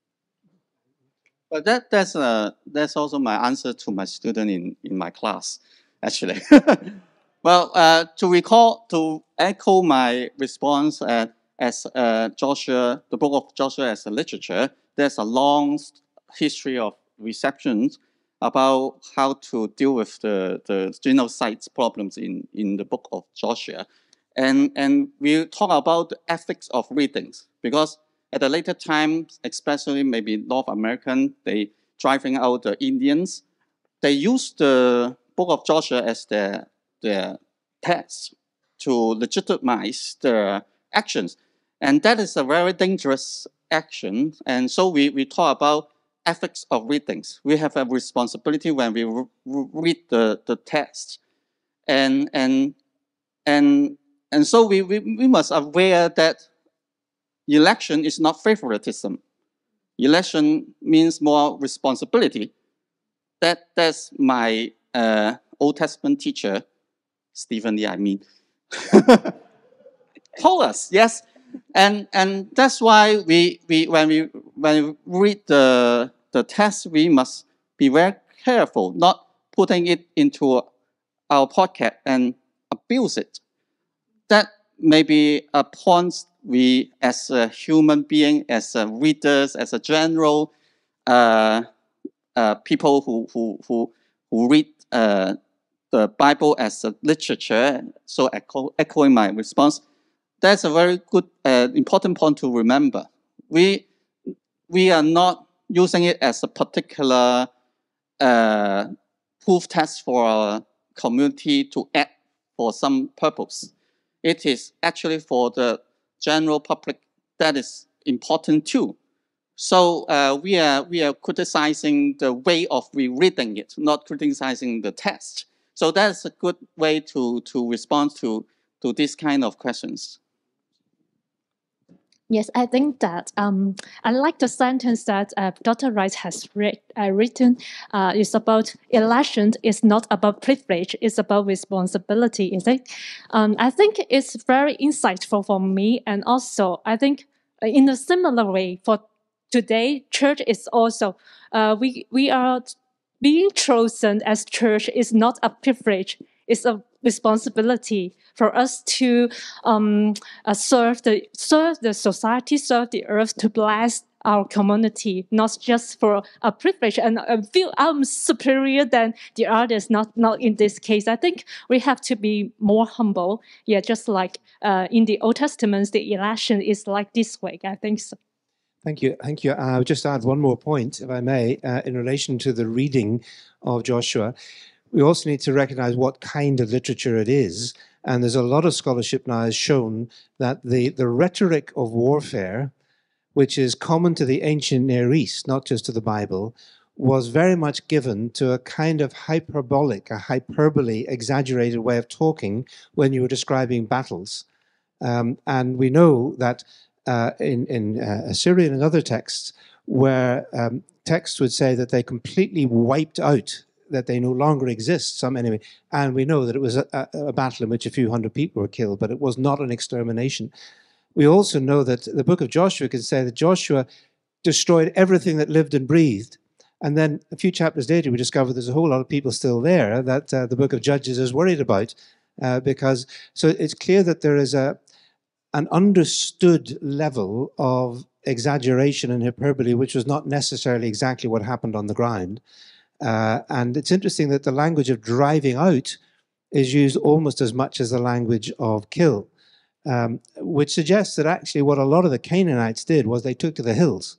But that, that's, uh, that's also my answer to my student in, in my class, actually. Well, uh, to recall, to echo my response uh, as uh, Joshua, the book of Joshua as a literature, there's a long history of receptions about how to deal with the, the genocide problems in, in the book of Joshua. And, and we talk about the ethics of readings, because at a later time, especially maybe North American, they driving out the Indians, they use the book of Joshua as their, their text to legitimize their actions. And that is a very dangerous action. And so we, we talk about ethics of readings. We have a responsibility when we re read the, the text. And, and, and, and so we, we, we must aware that election is not favoritism. Election means more responsibility. That, that's my uh, Old Testament teacher, Stephen Lee, I mean, told us, yes. And, and that's why we, we, when, we, when we read the, the text, we must be very careful, not putting it into our pocket and abuse it. That may be a point we, as a human being, as a readers, as a general, uh, uh, people who, who, who, who read uh, the Bible as a literature, so echo, echoing my response, that's a very good, uh, important point to remember. We, we are not using it as a particular uh, proof test for our community to act for some purpose. It is actually for the general public that is important too. So uh, we, are, we are criticizing the way of rereading it, not criticizing the text. So that's a good way to, to respond to, to this kind of questions. Yes, I think that um, I like the sentence that uh, Doctor Wright has read, uh, written. Uh, it's about election. It's not about privilege. It's about responsibility. Is it? Um, I think it's very insightful for me, and also I think in a similar way for today, church is also uh, we we are being chosen as church is not a privilege. It's a responsibility for us to um, uh, serve the serve the society, serve the earth, to bless our community, not just for a privilege and uh, feel I'm superior than the others. Not not in this case. I think we have to be more humble. Yeah, just like uh, in the Old Testament, the election is like this way. I think so. Thank you. Thank you. I would just add one more point, if I may, uh, in relation to the reading of Joshua. We also need to recognize what kind of literature it is. And there's a lot of scholarship now has shown that the, the rhetoric of warfare, which is common to the ancient Near East, not just to the Bible, was very much given to a kind of hyperbolic, a hyperbole, exaggerated way of talking when you were describing battles. Um, and we know that uh, in, in uh, Assyrian and other texts, where um, texts would say that they completely wiped out, that they no longer exist, some enemy. And we know that it was a, a, a battle in which a few hundred people were killed, but it was not an extermination. We also know that the book of Joshua can say that Joshua destroyed everything that lived and breathed. And then a few chapters later, we discover there's a whole lot of people still there that uh, the book of Judges is worried about. Uh, because, so it's clear that there is a, an understood level of exaggeration and hyperbole, which was not necessarily exactly what happened on the ground. Uh, and it's interesting that the language of driving out is used almost as much as the language of kill. Um, which suggests that actually what a lot of the Canaanites did was they took to the hills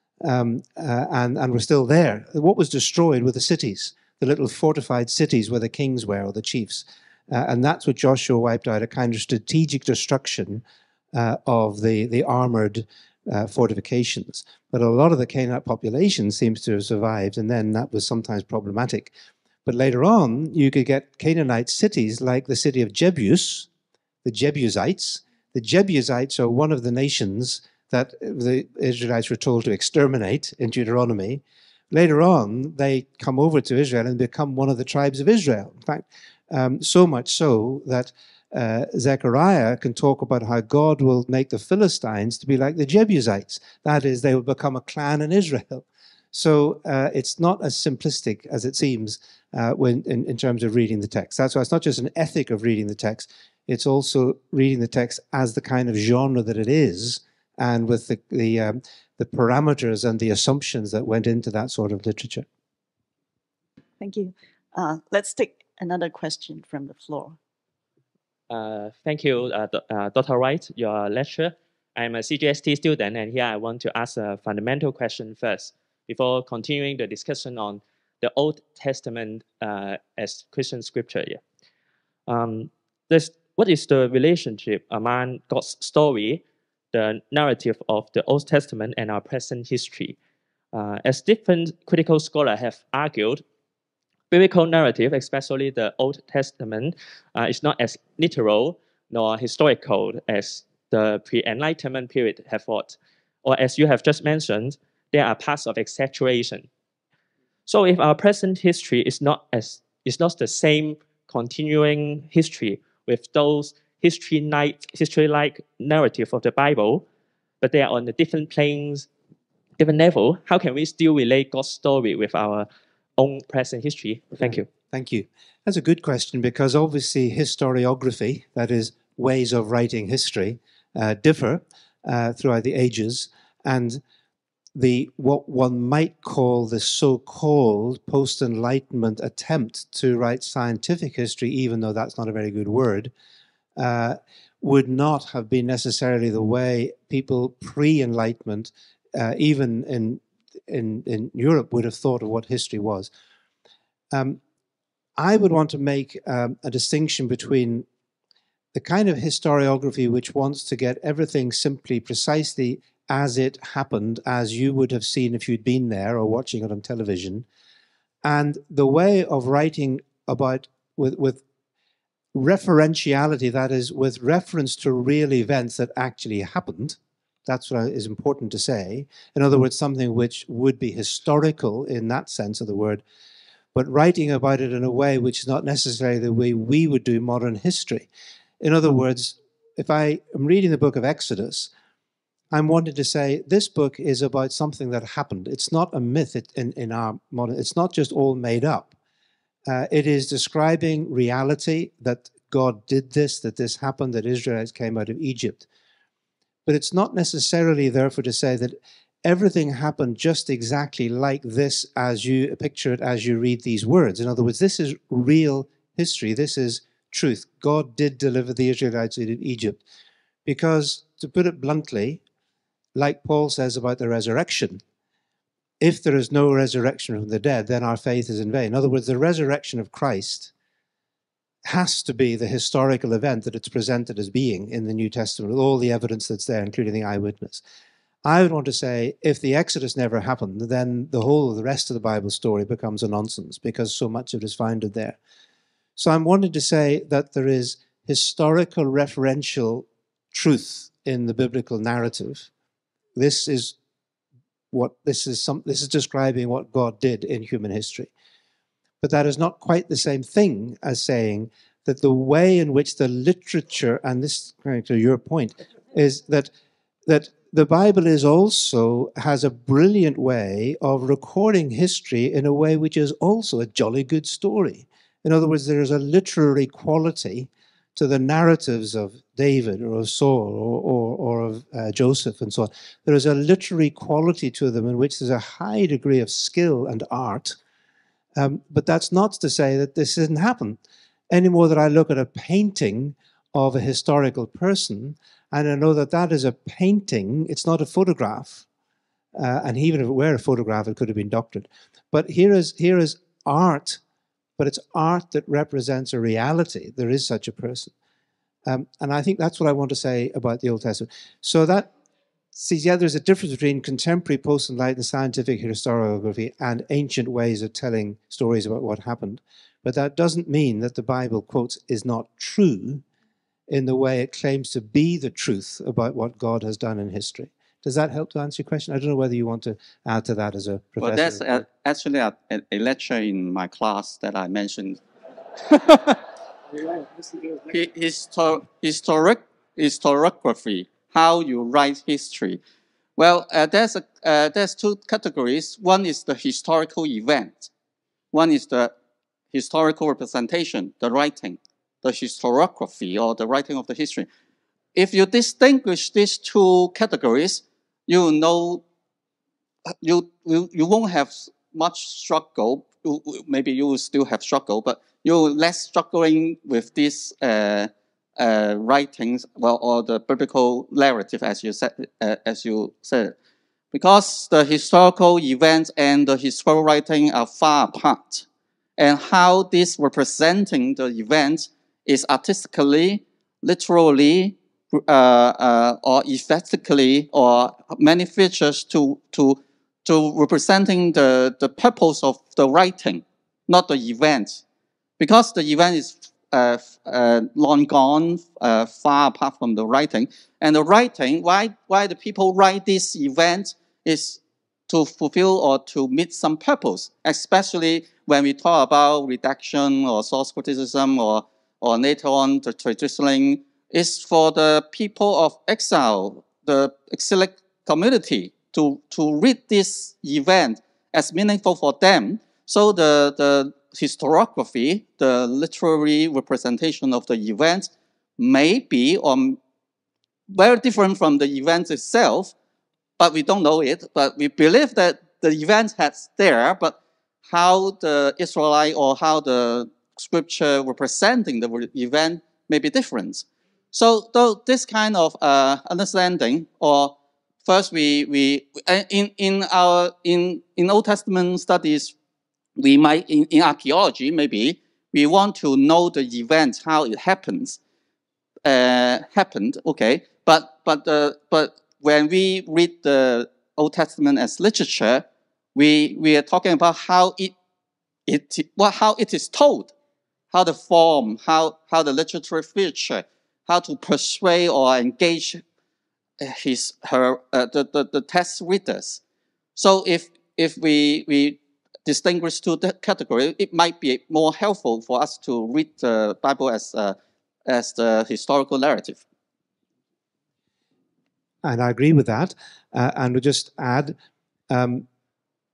um, uh, and, and were still there. What was destroyed were the cities, the little fortified cities where the kings were or the chiefs. Uh, and that's what Joshua wiped out, a kind of strategic destruction uh, of the, the armored uh, fortifications. But a lot of the Canaanite population seems to have survived, and then that was sometimes problematic. But later on, you could get Canaanite cities like the city of Jebus, the Jebusites. The Jebusites are one of the nations that the Israelites were told to exterminate in Deuteronomy. Later on, they come over to Israel and become one of the tribes of Israel. In fact, um, so much so that uh, Zechariah can talk about how God will make the Philistines to be like the Jebusites. That is, they will become a clan in Israel. So uh, it's not as simplistic as it seems uh, when in, in terms of reading the text. That's why it's not just an ethic of reading the text. It's also reading the text as the kind of genre that it is, and with the the, um, the parameters and the assumptions that went into that sort of literature. Thank you. Uh, let's take another question from the floor. Uh, thank you, uh, uh, Doctor Wright, your lecture. I'm a C G S T student, and here I want to ask a fundamental question first, before continuing the discussion on the Old Testament uh, as Christian scripture. Yeah. Um, this, what is the relationship among God's story, the narrative of the Old Testament, and our present history? Uh, as different critical scholars have argued, biblical narrative, especially the Old Testament, uh, is not as literal nor historical as the pre-Enlightenment period have thought. Or as you have just mentioned, there are parts of exaggeration. So if our present history is not as is not the same continuing history with those history-like history-like narrative of the Bible, but they are on the different planes, different level, how can we still relate God's story with our own present history? Thank you. Thank you. That's a good question, because obviously historiography, that is ways of writing history, uh, differ uh, throughout the ages, and the what one might call the so-called post-Enlightenment attempt to write scientific history, even though that's not a very good word, uh, would not have been necessarily the way people pre-Enlightenment, uh, even in, in, in Europe, would have thought of what history was. Um, I would want to make um, a distinction between the kind of historiography which wants to get everything simply precisely as it happened, as you would have seen if you'd been there or watching it on television, and the way of writing about with, with referentiality, that is, with reference to real events that actually happened. That's what is important to say. In other words, something which would be historical in that sense of the word, but writing about it in a way which is not necessarily the way we would do modern history. In other words, if I am reading the book of Exodus, I'm wanting to say this book is about something that happened. It's not a myth in, in our modern, it's not just all made up. Uh, it is describing reality, that God did this, that this happened, that Israelites came out of Egypt. But it's not necessarily, therefore, to say that everything happened just exactly like this as you picture it as you read these words. In other words, this is real history. This is truth. God did deliver the Israelites out of Egypt. Because, to put it bluntly, like Paul says about the resurrection, if there is no resurrection from the dead, then our faith is in vain. In other words, the resurrection of Christ has to be the historical event that it's presented as being in the New Testament, with all the evidence that's there, including the eyewitness. I would want to say, if the Exodus never happened, then the whole of the rest of the Bible story becomes a nonsense, because so much of it is founded there. So I'm wanting to say that there is historical referential truth in the biblical narrative. This is what this is some this is describing what God did in human history. But that is not quite the same thing as saying that the way in which the literature, and this going to your point, is that that the Bible is also has a brilliant way of recording history in a way which is also a jolly good story. In other words, there is a literary quality to the narratives of David or of Saul or, or, or of uh, Joseph and so on. There is a literary quality to them in which there's a high degree of skill and art. Um, but that's not to say that this didn't happen. Any more that I look at a painting of a historical person, and I know that that is a painting, it's not a photograph. Uh, and even if it were a photograph, it could have been doctored. But here is, here is art, but it's art that represents a reality. There is such a person. Um, and I think that's what I want to say about the Old Testament. So that, see, yeah, there's a difference between contemporary post-enlightenment scientific historiography and ancient ways of telling stories about what happened. But that doesn't mean that the Bible, quotes, is not true in the way it claims to be the truth about what God has done in history. Does that help to answer your question? I don't know whether you want to add to that as a professor. Well, that's a, actually a, a lecture in my class that I mentioned. Histor historic historiography, how you write history. Well, uh, there's a uh, there's two categories. One is the historical event. One is the historical representation, the writing, the historiography, or the writing of the history. If you distinguish these two categories, you know you you, you won't have much struggle. You, maybe you will still have struggle, but you're less struggling with these uh, uh, writings, well, or the biblical narrative, as you said, uh, as you said, because the historical events and the historical writing are far apart, and how this representing the event is artistically, literally, uh, uh, or aesthetically, or many features to to to representing the the purpose of the writing, not the event. Because the event is uh, uh, long gone, uh, far apart from the writing. And the writing, why, why the people write this event is to fulfill or to meet some purpose, especially when we talk about redaction or source criticism or, or later on the traditioning, is for the people of exile, the exilic community, to, to read this event as meaningful for them. So the, the historiography, the literary representation of the event, may be um, very different from the event itself, but we don't know it. But we believe that the event has there, but how the Israelite or how the scripture representing the event may be different. So though this kind of uh, understanding, or first we we in in our in in Old Testament studies, we might, in, in archaeology, maybe, we want to know the event, how it happens, uh, happened, okay. But, but, uh, but when we read the Old Testament as literature, we, we are talking about how it, it, what, how it is told, how the form, how, how the literary feature, how to persuade or engage his, her, uh, the, the, the text readers. So if, if we, we distinguish two categories, it might be more helpful for us to read the Bible as uh, as the historical narrative. And I agree with that. Uh, and we'll just add, um,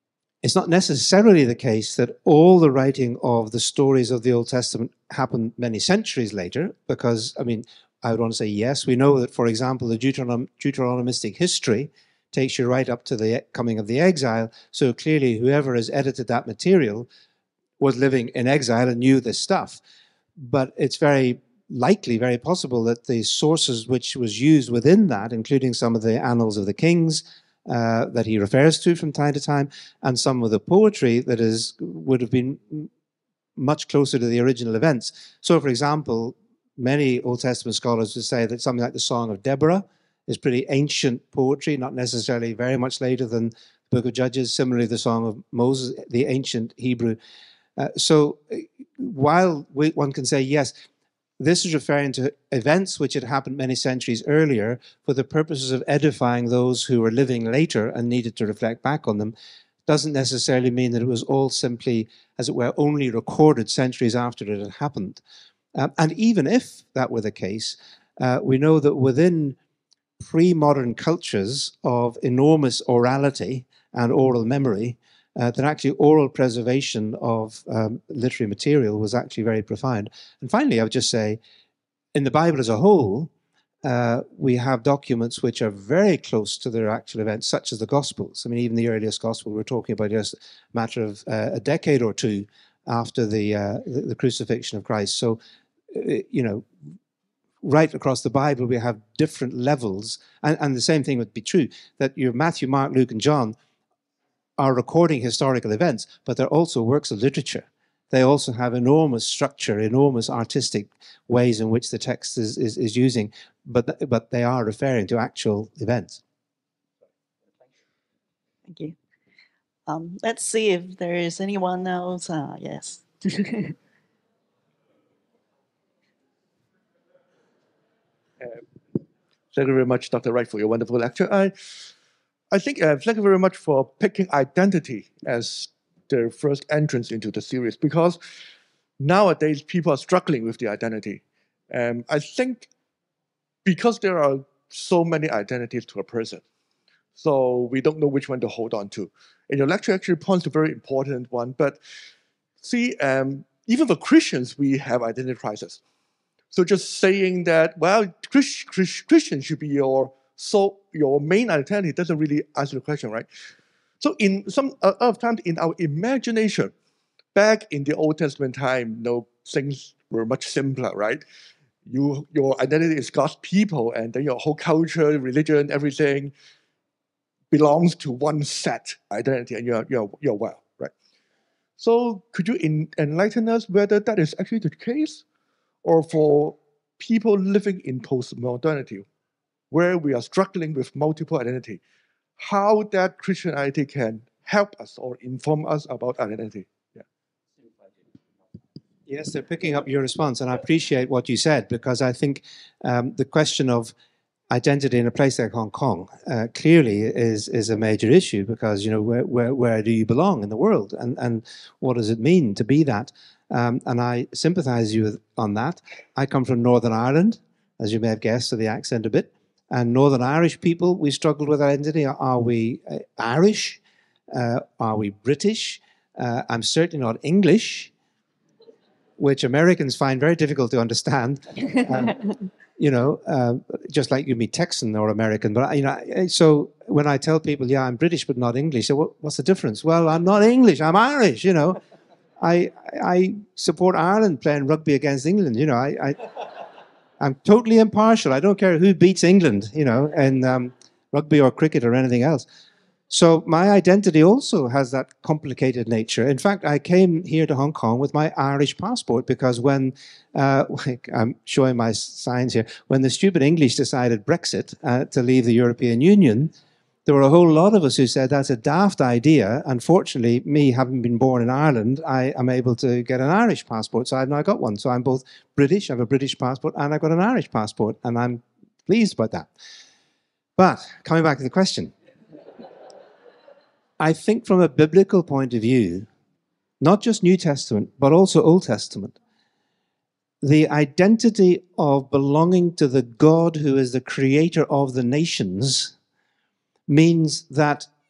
it's not necessarily the case that all the writing of the stories of the Old Testament happened many centuries later, because, I mean, I would want to say yes. We know that, for example, the Deuteronom Deuteronomistic history takes you right up to the coming of the exile. So clearly, whoever has edited that material was living in exile and knew this stuff. But it's very likely, very possible that the sources which was used within that, including some of the Annals of the Kings uh, that he refers to from time to time, and some of the poetry that is would have been much closer to the original events. So, for example, many Old Testament scholars would say that something like the Song of Deborah is pretty ancient poetry, not necessarily very much later than the Book of Judges. Similarly, the Song of Moses, the ancient Hebrew. Uh, so while we, one can say, yes, this is referring to events which had happened many centuries earlier for the purposes of edifying those who were living later and needed to reflect back on them, doesn't necessarily mean that it was all simply, as it were, only recorded centuries after it had happened. Um, and even if that were the case, uh, we know that within pre-modern cultures of enormous orality and oral memory, uh, that actually oral preservation of um, literary material was actually very profound. And finally, I would just say, in the Bible as a whole, uh, we have documents which are very close to their actual events, such as the Gospels. I mean, even the earliest Gospel we're talking about just a matter of uh, a decade or two after the, uh, the, the crucifixion of Christ. So, uh, you know, right across the Bible, we have different levels. And, and the same thing would be true, that your Matthew, Mark, Luke, and John are recording historical events, but they're also works of literature. They also have enormous structure, enormous artistic ways in which the text is, is, is using, but, but they are referring to actual events. Thank you. Um, let's see if there is anyone else. Uh, yes. Uh, thank you very much, Doctor Wright, for your wonderful lecture. I, I think uh, thank you very much for picking identity as the first entrance into the series, because nowadays people are struggling with the identity. Um, I think because there are so many identities to a person, so we don't know which one to hold on to. And your lecture actually points to a very important one, but see, um, even for Christians, we have identity crisis. So just saying that, well, Christ, Christ, Christian should be your so your main identity doesn't really answer the question, right? So in some uh, of times in our imagination, back in the Old Testament time, you know, things were much simpler, right? You, your identity is God's people, and then your whole culture, religion, everything belongs to one set identity, and you're, you're, you're well, right? So could you in, enlighten us whether that is actually the case? Or for people living in postmodernity, where we are struggling with multiple identity, how that Christian identity can help us or inform us about identity? Yeah. Yes, they're picking up your response, and I appreciate what you said, because I think um, the question of identity in a place like Hong Kong uh, clearly is is a major issue, because, you know, where, where, where do you belong in the world, and, and what does it mean to be that? Um, and I sympathize you with, on that. I come from Northern Ireland, as you may have guessed, to the accent a bit. And Northern Irish people, we struggled with identity. Are we uh, Irish? Uh, are we British? Uh, I'm certainly not English, which Americans find very difficult to understand. Um, you know, uh, just like you meet Texan or American. But, you know, so when I tell people, yeah, I'm British but not English, so what, what's the difference? Well, I'm not English, I'm Irish, you know. I I support Ireland playing rugby against England. You know, I, I I'm totally impartial. I don't care who beats England. You know, in um, rugby or cricket or anything else. So my identity also has that complicated nature. In fact, I came here to Hong Kong with my Irish passport, because when uh, I'm showing my signs here, when the stupid English decided Brexit uh, to leave the European Union, there were a whole lot of us who said that's a daft idea. Unfortunately, me having been born in Ireland, I am able to get an Irish passport. So I've now got one. So I'm both British, I have a British passport, and I've got an Irish passport. And I'm pleased about that. But coming back to the question, I think from a biblical point of view, not just New Testament, but also Old Testament, the identity of belonging to the God who is the creator of the nations means that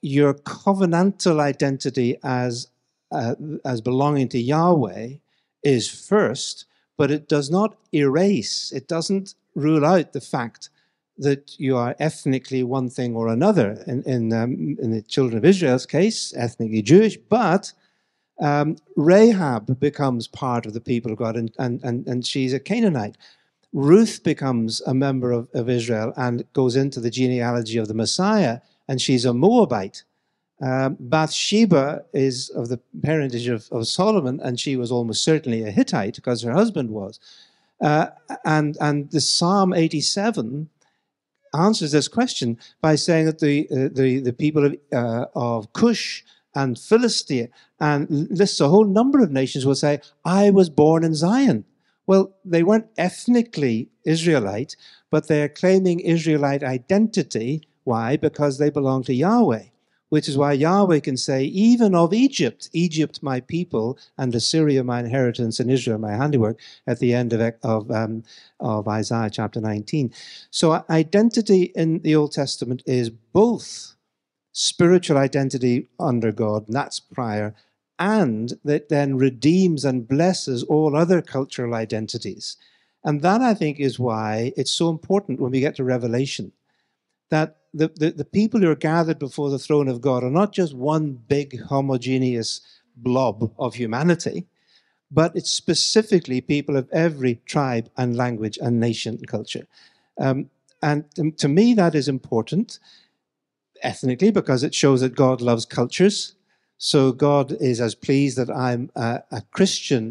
your covenantal identity as, uh, as belonging to Yahweh is first, but it does not erase, it doesn't rule out the fact that you are ethnically one thing or another. In, in, um, in the children of Israel's case, ethnically Jewish, but um, Rahab becomes part of the people of God, and, and, and, and she's a Canaanite. Ruth becomes a member of, of Israel and goes into the genealogy of the Messiah, and she's a Moabite. Um, Bathsheba is of the parentage of, of Solomon, and she was almost certainly a Hittite because her husband was. Uh, and, and the Psalm eighty-seven answers this question by saying that the, uh, the, the people of, uh, of Cush and Philistia, and lists a whole number of nations, will say, I was born in Zion. Well, they weren't ethnically Israelite, but they're claiming Israelite identity. Why? Because they belong to Yahweh, which is why Yahweh can say, even of Egypt, Egypt my people, and Assyria my inheritance, and Israel my handiwork, at the end of, of, um, of Isaiah chapter nineteen. So identity in the Old Testament is both spiritual identity under God, and that's prior, and that then redeems and blesses all other cultural identities. And that, I think, is why it's so important when we get to Revelation, that the, the, the people who are gathered before the throne of God are not just one big homogeneous blob of humanity, but it's specifically people of every tribe and language and nation and culture. Um, and to me, that is important ethnically because it shows that God loves cultures. So God is as pleased that I'm a, a Christian,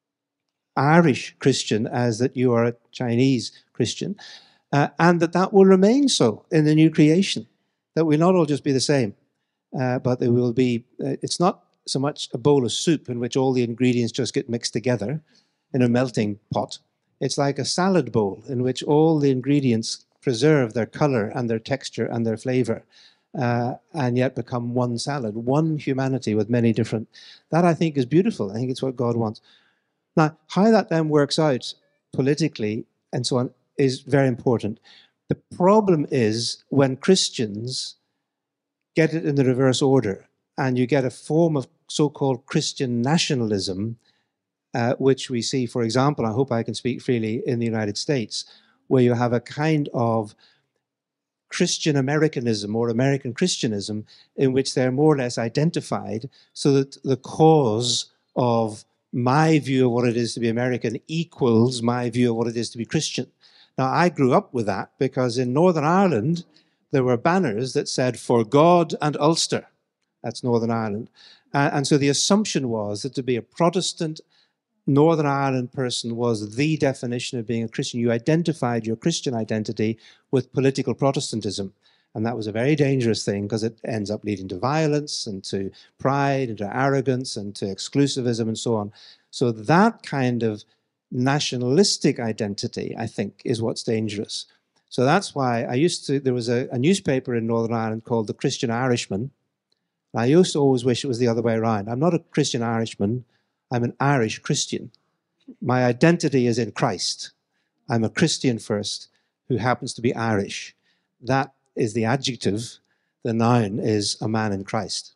Irish Christian, as that you are a Chinese Christian, uh, and that that will remain so in the new creation, that we'll not all just be the same, uh, but there will be, uh, it's not so much a bowl of soup in which all the ingredients just get mixed together in a melting pot. It's like a salad bowl in which all the ingredients preserve their color and their texture and their flavor. Uh, and yet become one salad, one humanity with many different. That, I think, is beautiful. I think it's what God wants. Now, how that then works out politically and so on is very important. The problem is when Christians get it in the reverse order and you get a form of so-called Christian nationalism, uh, which we see, for example, I hope I can speak freely, in the United States, where you have a kind of Christian Americanism or American Christianism in which they're more or less identified, so that the cause of my view of what it is to be American equals my view of what it is to be Christian. Now, I grew up with that because in Northern Ireland, there were banners that said, for God and Ulster. That's Northern Ireland. Uh, and so the assumption was that to be a Protestant Northern Ireland person was the definition of being a Christian. You identified your Christian identity with political Protestantism. And that was a very dangerous thing because it ends up leading to violence and to pride and to arrogance and to exclusivism and so on. So that kind of nationalistic identity, I think, is what's dangerous. So that's why I used to, there was a, a newspaper in Northern Ireland called The Christian Irishman. I used to always wish it was the other way around. I'm not a Christian Irishman. I'm an Irish Christian. My identity is in Christ. I'm a Christian first who happens to be Irish. That is the adjective. The noun is a man in Christ.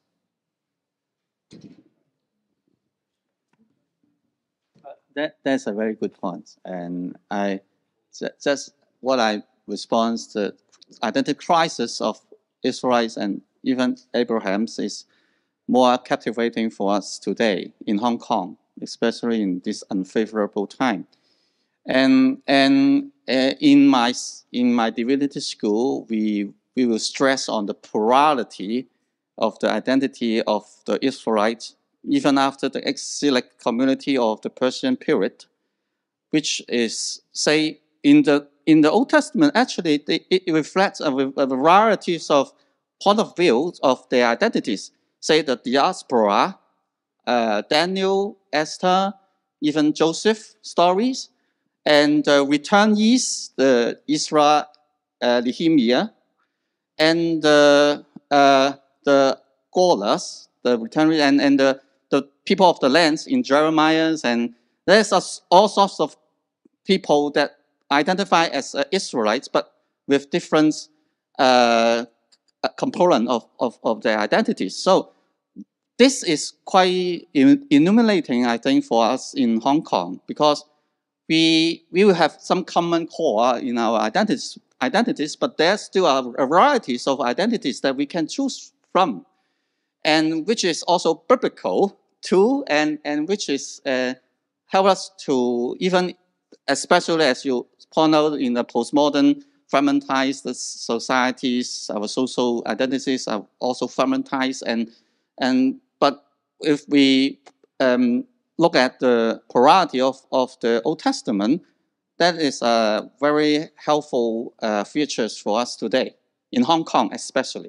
That, that's a very good point. And I, that's what I respond to the identity crisis of Israelites and even Abraham's is more captivating for us today in Hong Kong, especially in this unfavorable time. And and uh, in my in my divinity school, we we will stress on the plurality of the identity of the Israelites, even after the exilic community of the Persian period, which is say in the in the Old Testament actually it, it reflects a, a variety of point of view of their identities. Say the diaspora, uh, Daniel, Esther, even Joseph stories, and uh, returnees, the Israel, uh, Nehemiah, and uh, uh, the Gaullers, the returnees, and, and the, the people of the lands in Jeremiah, and there's all sorts of people that identify as uh, Israelites, but with different uh, a component of, of, of their identity. So this is quite illuminating, I think, for us in Hong Kong, because we, we will have some common core in our identities, identities, but there still are varieties of identities that we can choose from, and which is also biblical too, and, and which is uh, help us to even, especially as you point out in the postmodern fragmentized societies, our social identities are also fragmentized, and, and but if we um, look at the plurality of, of the Old Testament, that is a very helpful uh, features for us today, in Hong Kong especially.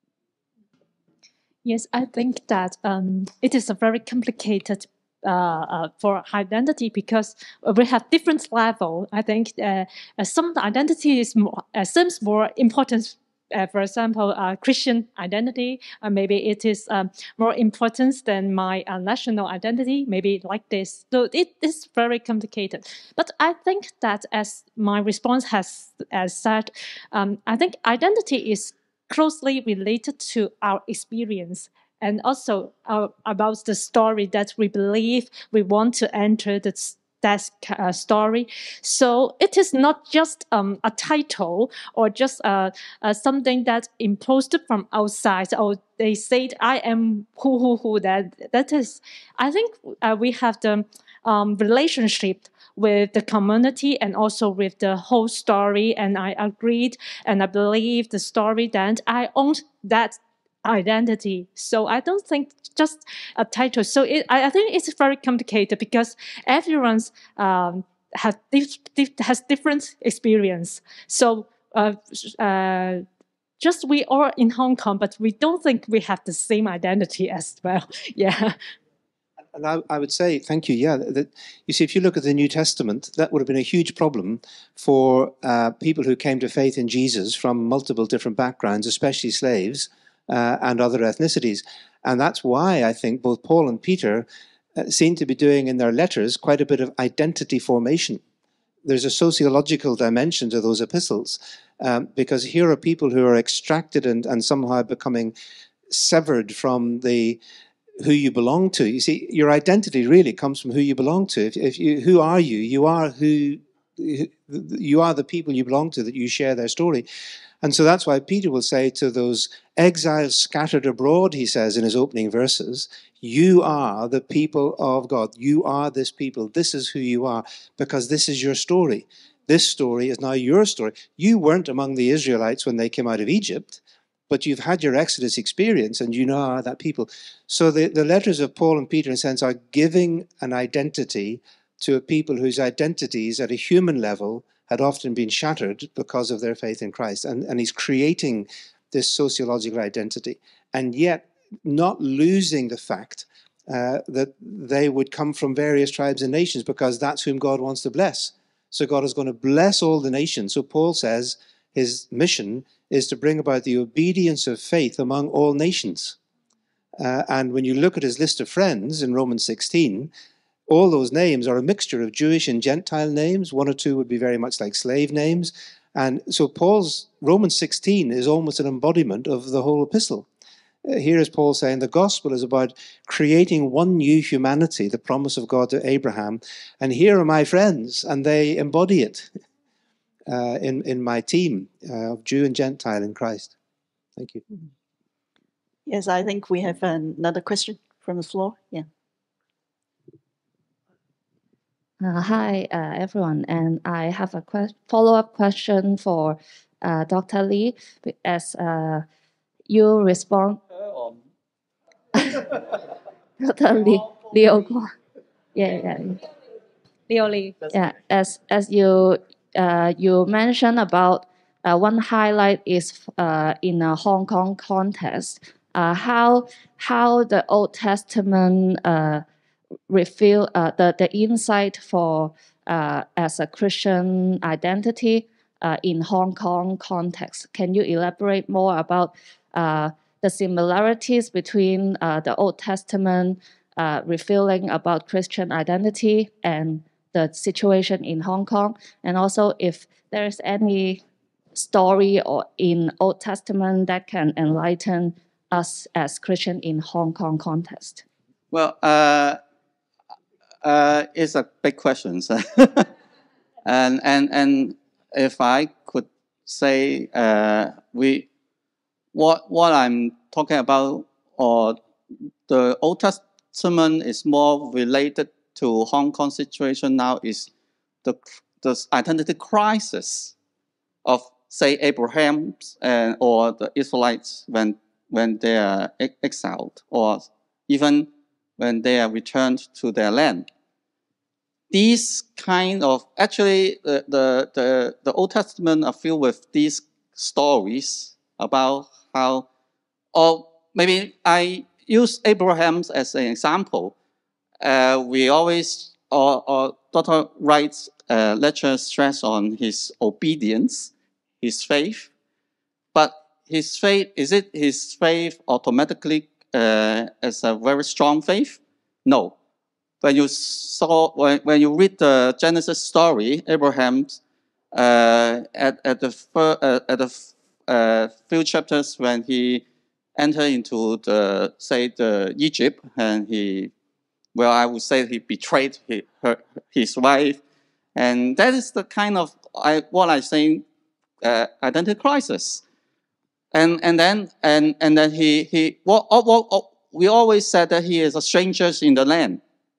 Yes, I think that um, it is a very complicated uh, uh, for identity, because we have different level. I think uh, uh, some identity is more, uh, seems more important. Uh, for example, uh, Christian identity, uh, maybe it is um, more important than my uh, national identity, maybe like this. So it is very complicated. But I think that, as my response has, has said, um, I think identity is closely related to our experience, and also uh, about the story that we believe we want to enter the that uh, story. So it is not just um, a title or just uh, uh, something that imposed from outside, or they said I am who who who. That that is, I think uh, we have the um, relationship with the community and also with the whole story. And I agreed and I believe the story that I owned that identity. So I don't think just a title. So it, I, I think it's very complicated, because everyone's um, has, dif dif has different experience. So uh, uh, just we are in Hong Kong, but we don't think we have the same identity as well. Yeah. And I, I would say, thank you, yeah, that, you see, if you look at the New Testament, that would have been a huge problem for uh, people who came to faith in Jesus from multiple different backgrounds, especially slaves uh, and other ethnicities. And that's why I think both Paul and Peter uh, seem to be doing in their letters quite a bit of identity formation. There's a sociological dimension to those epistles, um, because here are people who are extracted and, and somehow becoming severed from the who you belong to. You see, your identity really comes from who you belong to. If, if you, who are you? You are who, you are the people you belong to, that you share their story. And so that's why Peter will say to those exiles scattered abroad, he says in his opening verses, you are the people of God. You are this people. This is who you are, because this is your story. This story is now your story. You weren't among the Israelites when they came out of Egypt, but you've had your Exodus experience and you know are that people. So the, the letters of Paul and Peter, in a sense, are giving an identity to a people whose identities at a human level had often been shattered because of their faith in Christ. And, and he's creating this sociological identity, and yet not losing the fact uh, that they would come from various tribes and nations, because that's whom God wants to bless. So God is going to bless all the nations. So Paul says his mission is to bring about the obedience of faith among all nations. Uh, and when you look at his list of friends in Romans sixteen, all those names are a mixture of Jewish and Gentile names. One or two would be very much like slave names. And so Paul's Romans sixteen is almost an embodiment of the whole epistle. Uh, here is Paul saying the gospel is about creating one new humanity, the promise of God to Abraham. And here are my friends, and they embody it. Uh, in, in my team uh, of Jew and Gentile in Christ. Thank you. Yes, I think we have another question from the floor. Yeah. Uh, hi, uh, everyone. And I have a que follow-up question for uh, Doctor Lee. As uh, you respond... Doctor Lee, Leo. Yeah, yeah. Leo Lee. Yeah, as, as you... Uh, you mentioned about uh, one highlight is uh, in a Hong Kong context, uh, how how the Old Testament uh, reveal uh, the the insight for uh, as a Christian identity uh, in Hong Kong context. Can you elaborate more about uh, the similarities between uh, the Old Testament uh, revealing about Christian identity and the situation in Hong Kong, and also if there's any story or in Old Testament that can enlighten us as Christian in Hong Kong context? Well, uh, uh, it's a big question. and, and, and if I could say, uh, we, what, what I'm talking about, or the Old Testament is more related to Hong Kong situation now, is the, the identity crisis of, say, Abraham and, or the Israelites when, when they are exiled, or even when they are returned to their land. These kind of, actually, the, the, the, the Old Testament are filled with these stories about how, or maybe I use Abraham as an example. Uh, we always, or, or Doctor Wright's uh, lecture stress on his obedience, his faith. But his faith, is it his faith automatically uh, as a very strong faith? No. When you saw, when, when you read the Genesis story, Abraham, uh, at, at the, fir, uh, at the uh, few chapters when he entered into the, say, the Egypt, and he, well, I would say he betrayed his, her, his wife. And that is the kind of, I, what I say, uh, identity crisis. And, and then, and, and then he, he, what, what, what, we always said that he is a stranger in the land.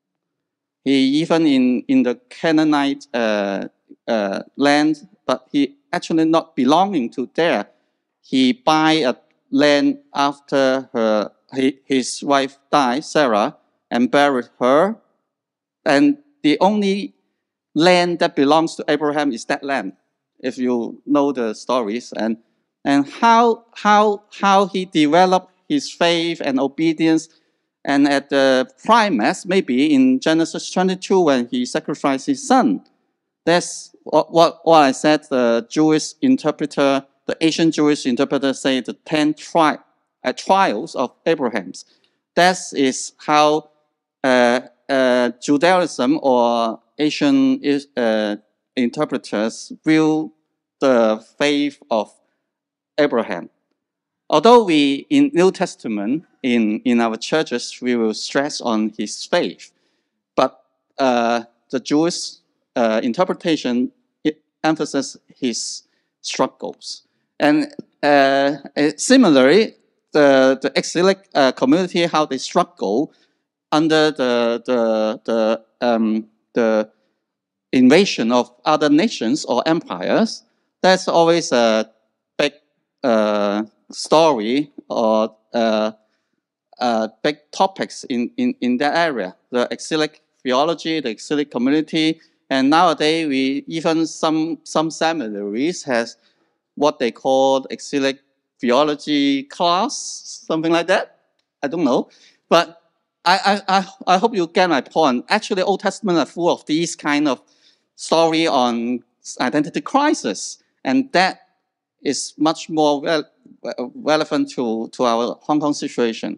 He even in, in the Canaanite uh, uh, land, but he actually not belonging to there. He buy a land after her, he, his wife died, Sarah, and buried her. And the only land that belongs to Abraham is that land, if you know the stories. And, and how, how, how he developed his faith and obedience. And at the climax, maybe in Genesis twenty-two, when he sacrificed his son, that's what, what, what I said, the Jewish interpreter, the ancient Jewish interpreter say the ten tri uh, trials of Abraham's. That is how uh, uh, Judaism or Asian uh, interpreters view the faith of Abraham. Although we, in New Testament, in, in our churches, we will stress on his faith, but uh, the Jewish uh, interpretation it emphasizes his struggles. And uh, similarly, the, the exilic uh, community, how they struggle under the, the, the, um, the invasion of other nations or empires, that's always a big uh, story or uh, uh, big topics in, in, in that area. The exilic theology, the exilic community, and nowadays we even some some seminaries has what they call exilic theology class, something like that. I don't know, but I I I, I hope you get my point. Actually, Old Testament are full of these kind of story on identity crisis, and that is much more well, relevant to, to our Hong Kong situation.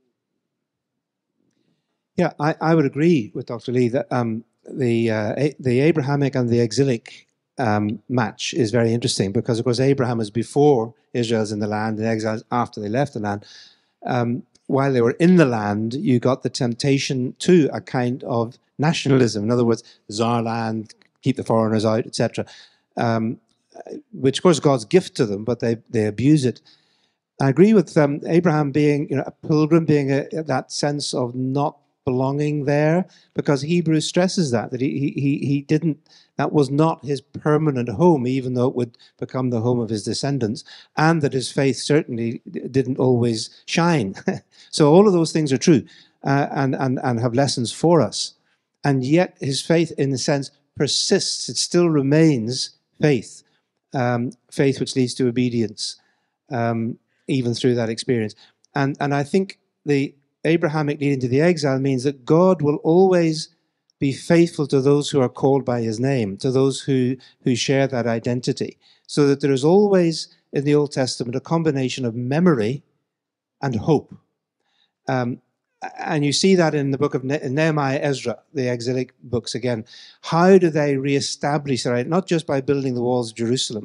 Yeah, I, I would agree with Doctor Lee that um, the, uh, a, the Abrahamic and the exilic um, match is very interesting because, of course, Abraham is before Israel's in the land and exiles after they left the land. Um, while they were in the land, you got the temptation to a kind of nationalism. In other words, this is our land, keep the foreigners out, et cetera. Um, which of course is God's gift to them, but they, they abuse it. I agree with um, Abraham being, you know, a pilgrim, being a, that sense of not belonging there, because Hebrews stresses that, that he, he, he didn't, that was not his permanent home, even though it would become the home of his descendants, and that his faith certainly didn't always shine. So all of those things are true uh, and, and, and have lessons for us. And yet his faith, in a sense, persists. It still remains faith. Um, faith which leads to obedience, um, even through that experience. And, and I think the Abrahamic leading to the exile means that God will always be faithful to those who are called by his name, to those who, who share that identity. So that there is always, in the Old Testament, a combination of memory and hope. Um, And you see that in the book of ne Nehemiah, Ezra, the exilic books again. How do they reestablish their identity? Not just by building the walls of Jerusalem,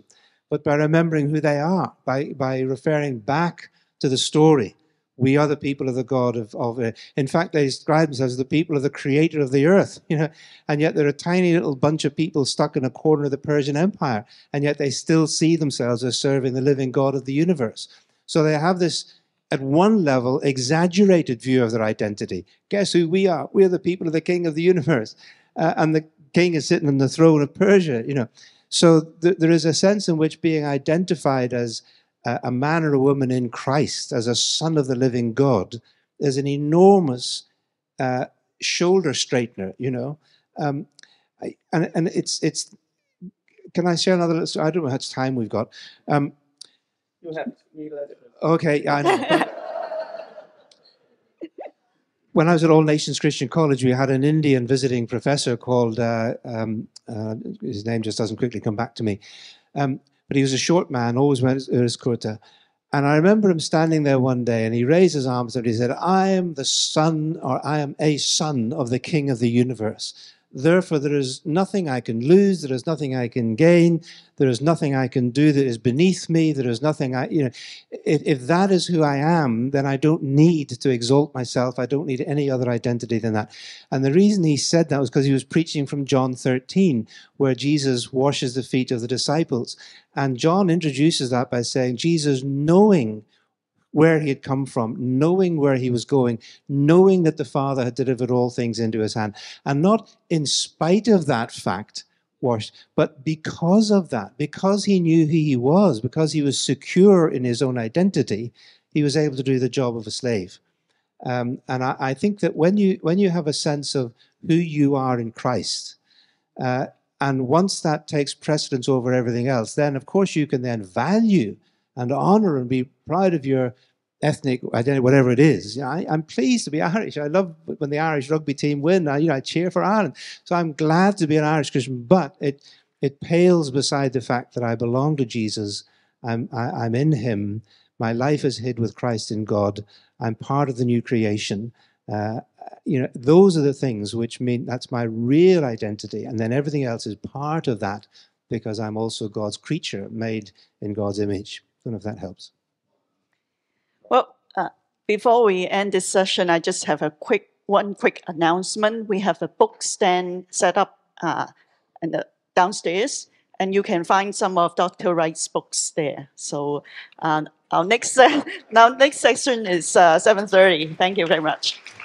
but by remembering who they are, by, by referring back to the story. We are the people of the God of, of uh, in fact, they describe themselves as the people of the creator of the earth, you know, and yet they're a tiny little bunch of people stuck in a corner of the Persian Empire, and yet they still see themselves as serving the living God of the universe. So they have this, at one level, exaggerated view of their identity. Guess who we are? We're the people of the king of the universe. Uh, and the king is sitting on the throne of Persia, you know. So th there is a sense in which being identified as a man or a woman in Christ, as a son of the living God, is an enormous uh, shoulder straightener, you know. Um, I, and and it's, it's, can I share another, I don't know how much time we've got. Um, You have, okay, I know. When I was at All Nations Christian College, we had an Indian visiting professor called, uh, um, uh, his name just doesn't quickly come back to me. Um, But he was a short man, always went his kurta. And I remember him standing there one day, and he raised his arms and he said, I am the son, or I am a son of the King of the universe. Therefore, there is nothing I can lose. There is nothing I can gain. There is nothing I can do that is beneath me. There is nothing I, you know, if, if that is who I am, then I don't need to exalt myself. I don't need any other identity than that. And the reason he said that was because he was preaching from John thirteen, where Jesus washes the feet of the disciples. And John introduces that by saying, Jesus, knowing where he had come from, knowing where he was going, knowing that the Father had delivered all things into his hand, and not in spite of that fact washed, but because of that, because he knew who he was, because he was secure in his own identity, he was able to do the job of a slave. Um, and I, I think that when you, when you have a sense of who you are in Christ, uh, and once that takes precedence over everything else, then of course you can then value and honor and be proud of your ethnic identity, whatever it is. You know, I, I'm pleased to be Irish. I love when the Irish rugby team win. I, you know, I cheer for Ireland. So I'm glad to be an Irish Christian, but it it pales beside the fact that I belong to Jesus. I'm I, I'm in Him. My life is hid with Christ in God. I'm part of the new creation. Uh, you know, those are the things which mean that's my real identity, and then everything else is part of that because I'm also God's creature, made in God's image. I don't know if that helps. Well, uh, before we end this session, I just have a quick, one quick announcement. We have a book stand set up uh, in the, downstairs, and you can find some of Doctor Wright's books there. So uh, our next, uh, now next section is uh, seven thirty. Thank you very much.